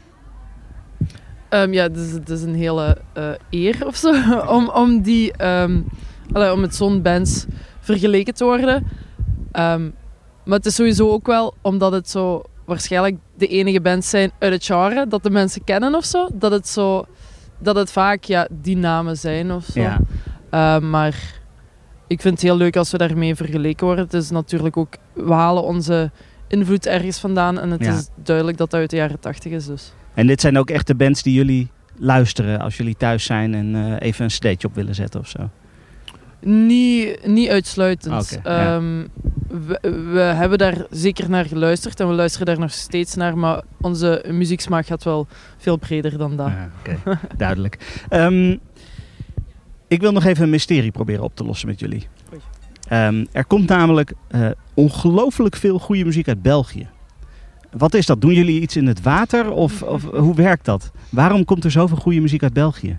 Um, ja, het is, het is een hele uh, eer of zo om, om, die, um, allee, om met zo'n bands vergeleken te worden. Um, maar het is sowieso ook wel omdat het zo waarschijnlijk de enige bands zijn uit het genre dat de mensen kennen of zo. Dat het, zo, dat het vaak ja, die namen zijn of zo. Ja. Uh, maar ik vind het heel leuk als we daarmee vergeleken worden. Het is natuurlijk ook, we halen onze invloed ergens vandaan en het Ja. is duidelijk dat dat uit de jaren tachtig is dus. En dit zijn ook echt de bands die jullie luisteren als jullie thuis zijn en uh, even een stage op willen zetten of zo? Niet, niet uitsluitend. Oké, ja. um, we, we hebben daar zeker naar geluisterd en we luisteren daar nog steeds naar, maar onze muzieksmaak gaat wel veel breder dan dat. Ja, Oké, duidelijk. Um, ik wil nog even een mysterie proberen op te lossen met jullie. Um, er komt namelijk uh, ongelooflijk veel goede muziek uit België. Wat is dat? Doen jullie iets in het water of, of hoe werkt dat? Waarom komt er zoveel goede muziek uit België?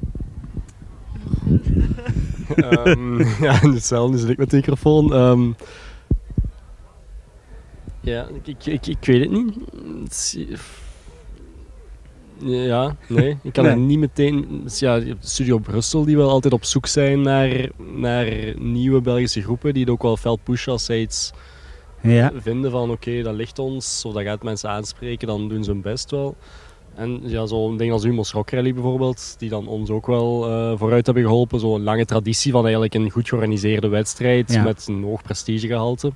um, ja, hetzelfde zit ik met de microfoon. Um, ja, ik, ik, ik weet het niet. Het is- Ja, nee, ik kan Nee. er niet meteen... Ja, je hebt Studio Brussel die wel altijd op zoek zijn naar, naar nieuwe Belgische groepen die het ook wel fel pushen als zij iets Ja. vinden van oké, dat ligt ons, of dat gaat mensen aanspreken, dan doen ze hun best wel. En ja, zo'n ding als Humo's Rock Rally bijvoorbeeld, die dan ons ook wel uh, vooruit hebben geholpen. Zo'n lange traditie van eigenlijk een goed georganiseerde wedstrijd Ja. met een hoog prestigegehalte.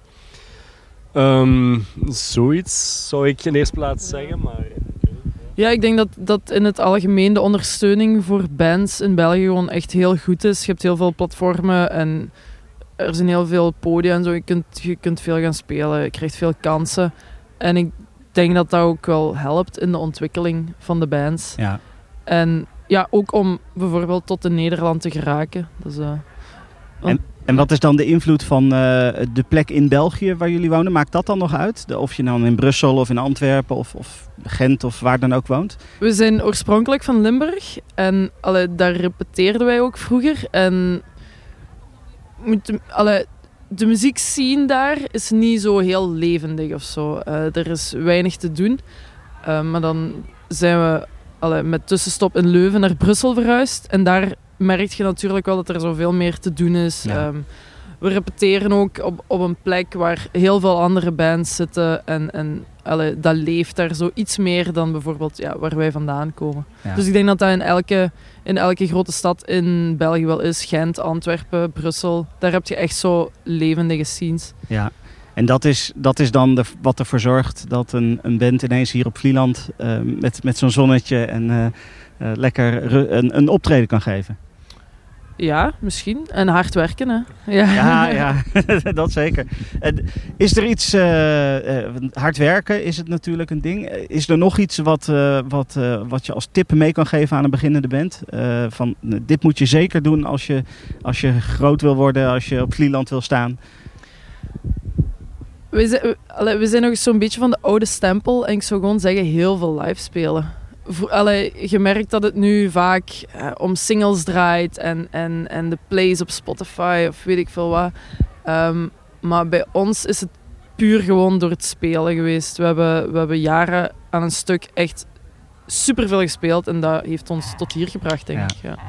Um, zoiets zou ik in de eerste plaats zeggen, maar... Ja, ik denk dat, dat in het algemeen de ondersteuning voor bands in België gewoon echt heel goed is. Je hebt heel veel platformen en er zijn heel veel podia en zo. Je kunt, je kunt veel gaan spelen, je krijgt veel kansen. En ik denk dat dat ook wel helpt in de ontwikkeling van de bands. Ja. En ja, ook om bijvoorbeeld tot in Nederland te geraken. Dus, uh, En, en wat is dan de invloed van uh, de plek in België waar jullie wonen? Maakt dat dan nog uit? De, of je nou in Brussel of in Antwerpen of, of Gent of waar dan ook woont? We zijn oorspronkelijk van Limburg en allee, daar repeteerden wij ook vroeger. En moet, allee, de muziekscene daar is niet zo heel levendig of zo. Uh, er is weinig te doen. Uh, maar dan zijn we allee, met tussenstop in Leuven naar Brussel verhuisd. En daar merk je natuurlijk wel dat er zoveel meer te doen is. Ja. Um, we repeteren ook op, op een plek waar heel veel andere bands zitten. En, en allee, dat leeft daar zo iets meer dan bijvoorbeeld ja, waar wij vandaan komen. Ja. Dus ik denk dat dat in elke, in elke grote stad in België wel is. Gent, Antwerpen, Brussel. Daar heb je echt zo levendige scenes. Ja. En dat is, dat is dan de, wat ervoor zorgt dat een, een band ineens hier op Vlieland uh, met, met zo'n zonnetje en uh, uh, lekker ru- een, een optreden kan geven. Ja, misschien. En hard werken, hè. Ja, Ja, ja, dat zeker. En is er iets, uh, uh, hard werken is het natuurlijk een ding. Is er nog iets wat, uh, wat, uh, wat je als tip mee kan geven aan een beginnende band? Uh, van, uh, dit moet je zeker doen als je, als je groot wil worden, als je op Vlieland wil staan. We zijn, we, allee, we zijn nog zo'n beetje van de oude stempel. En ik zou gewoon zeggen, heel veel live spelen. Voor, allee, je merkt dat het nu vaak uh, om singles draait en, en, en de plays op Spotify of weet ik veel wat. Um, maar bij ons is het puur gewoon door het spelen geweest. We hebben, we hebben jaren aan een stuk echt superveel gespeeld en dat heeft ons tot hier gebracht, denk ja. ik. Ja.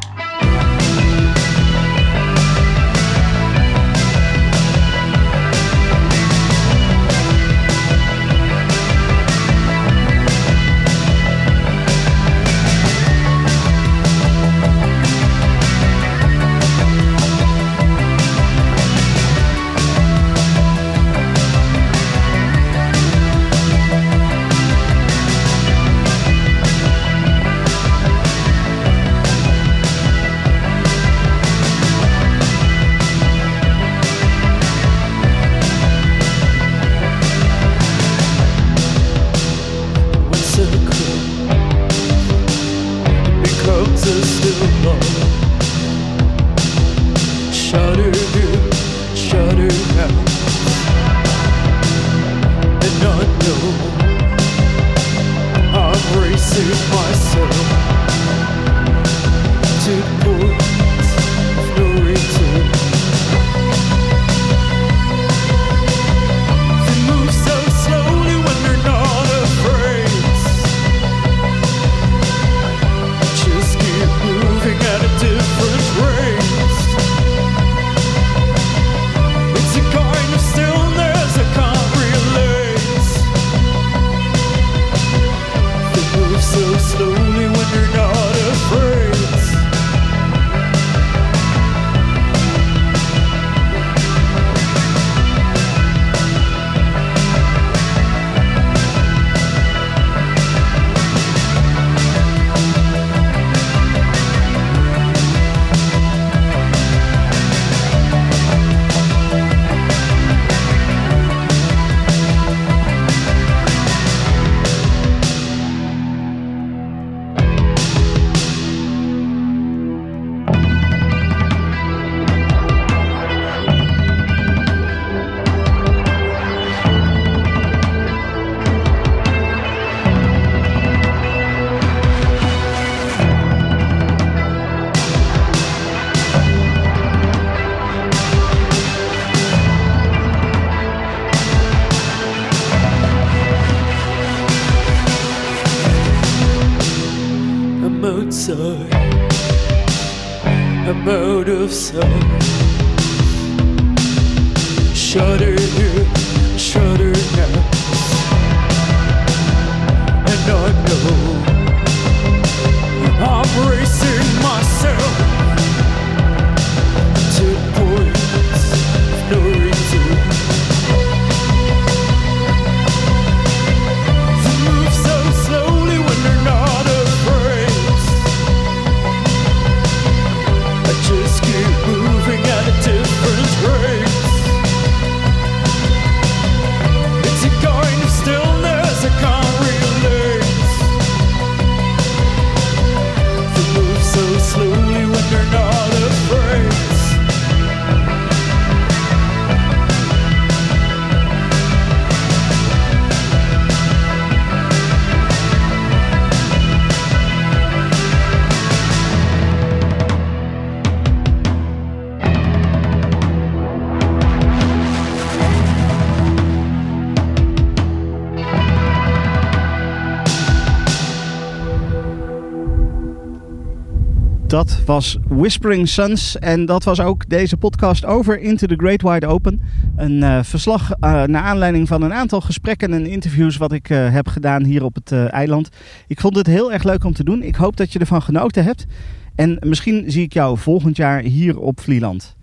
Dat was Whispering Suns en dat was ook deze podcast over Into the Great Wide Open. Een uh, verslag uh, naar aanleiding van een aantal gesprekken en interviews wat ik uh, heb gedaan hier op het uh, eiland. Ik vond het heel erg leuk om te doen. Ik hoop dat je ervan genoten hebt. En misschien zie ik jou volgend jaar hier op Vlieland.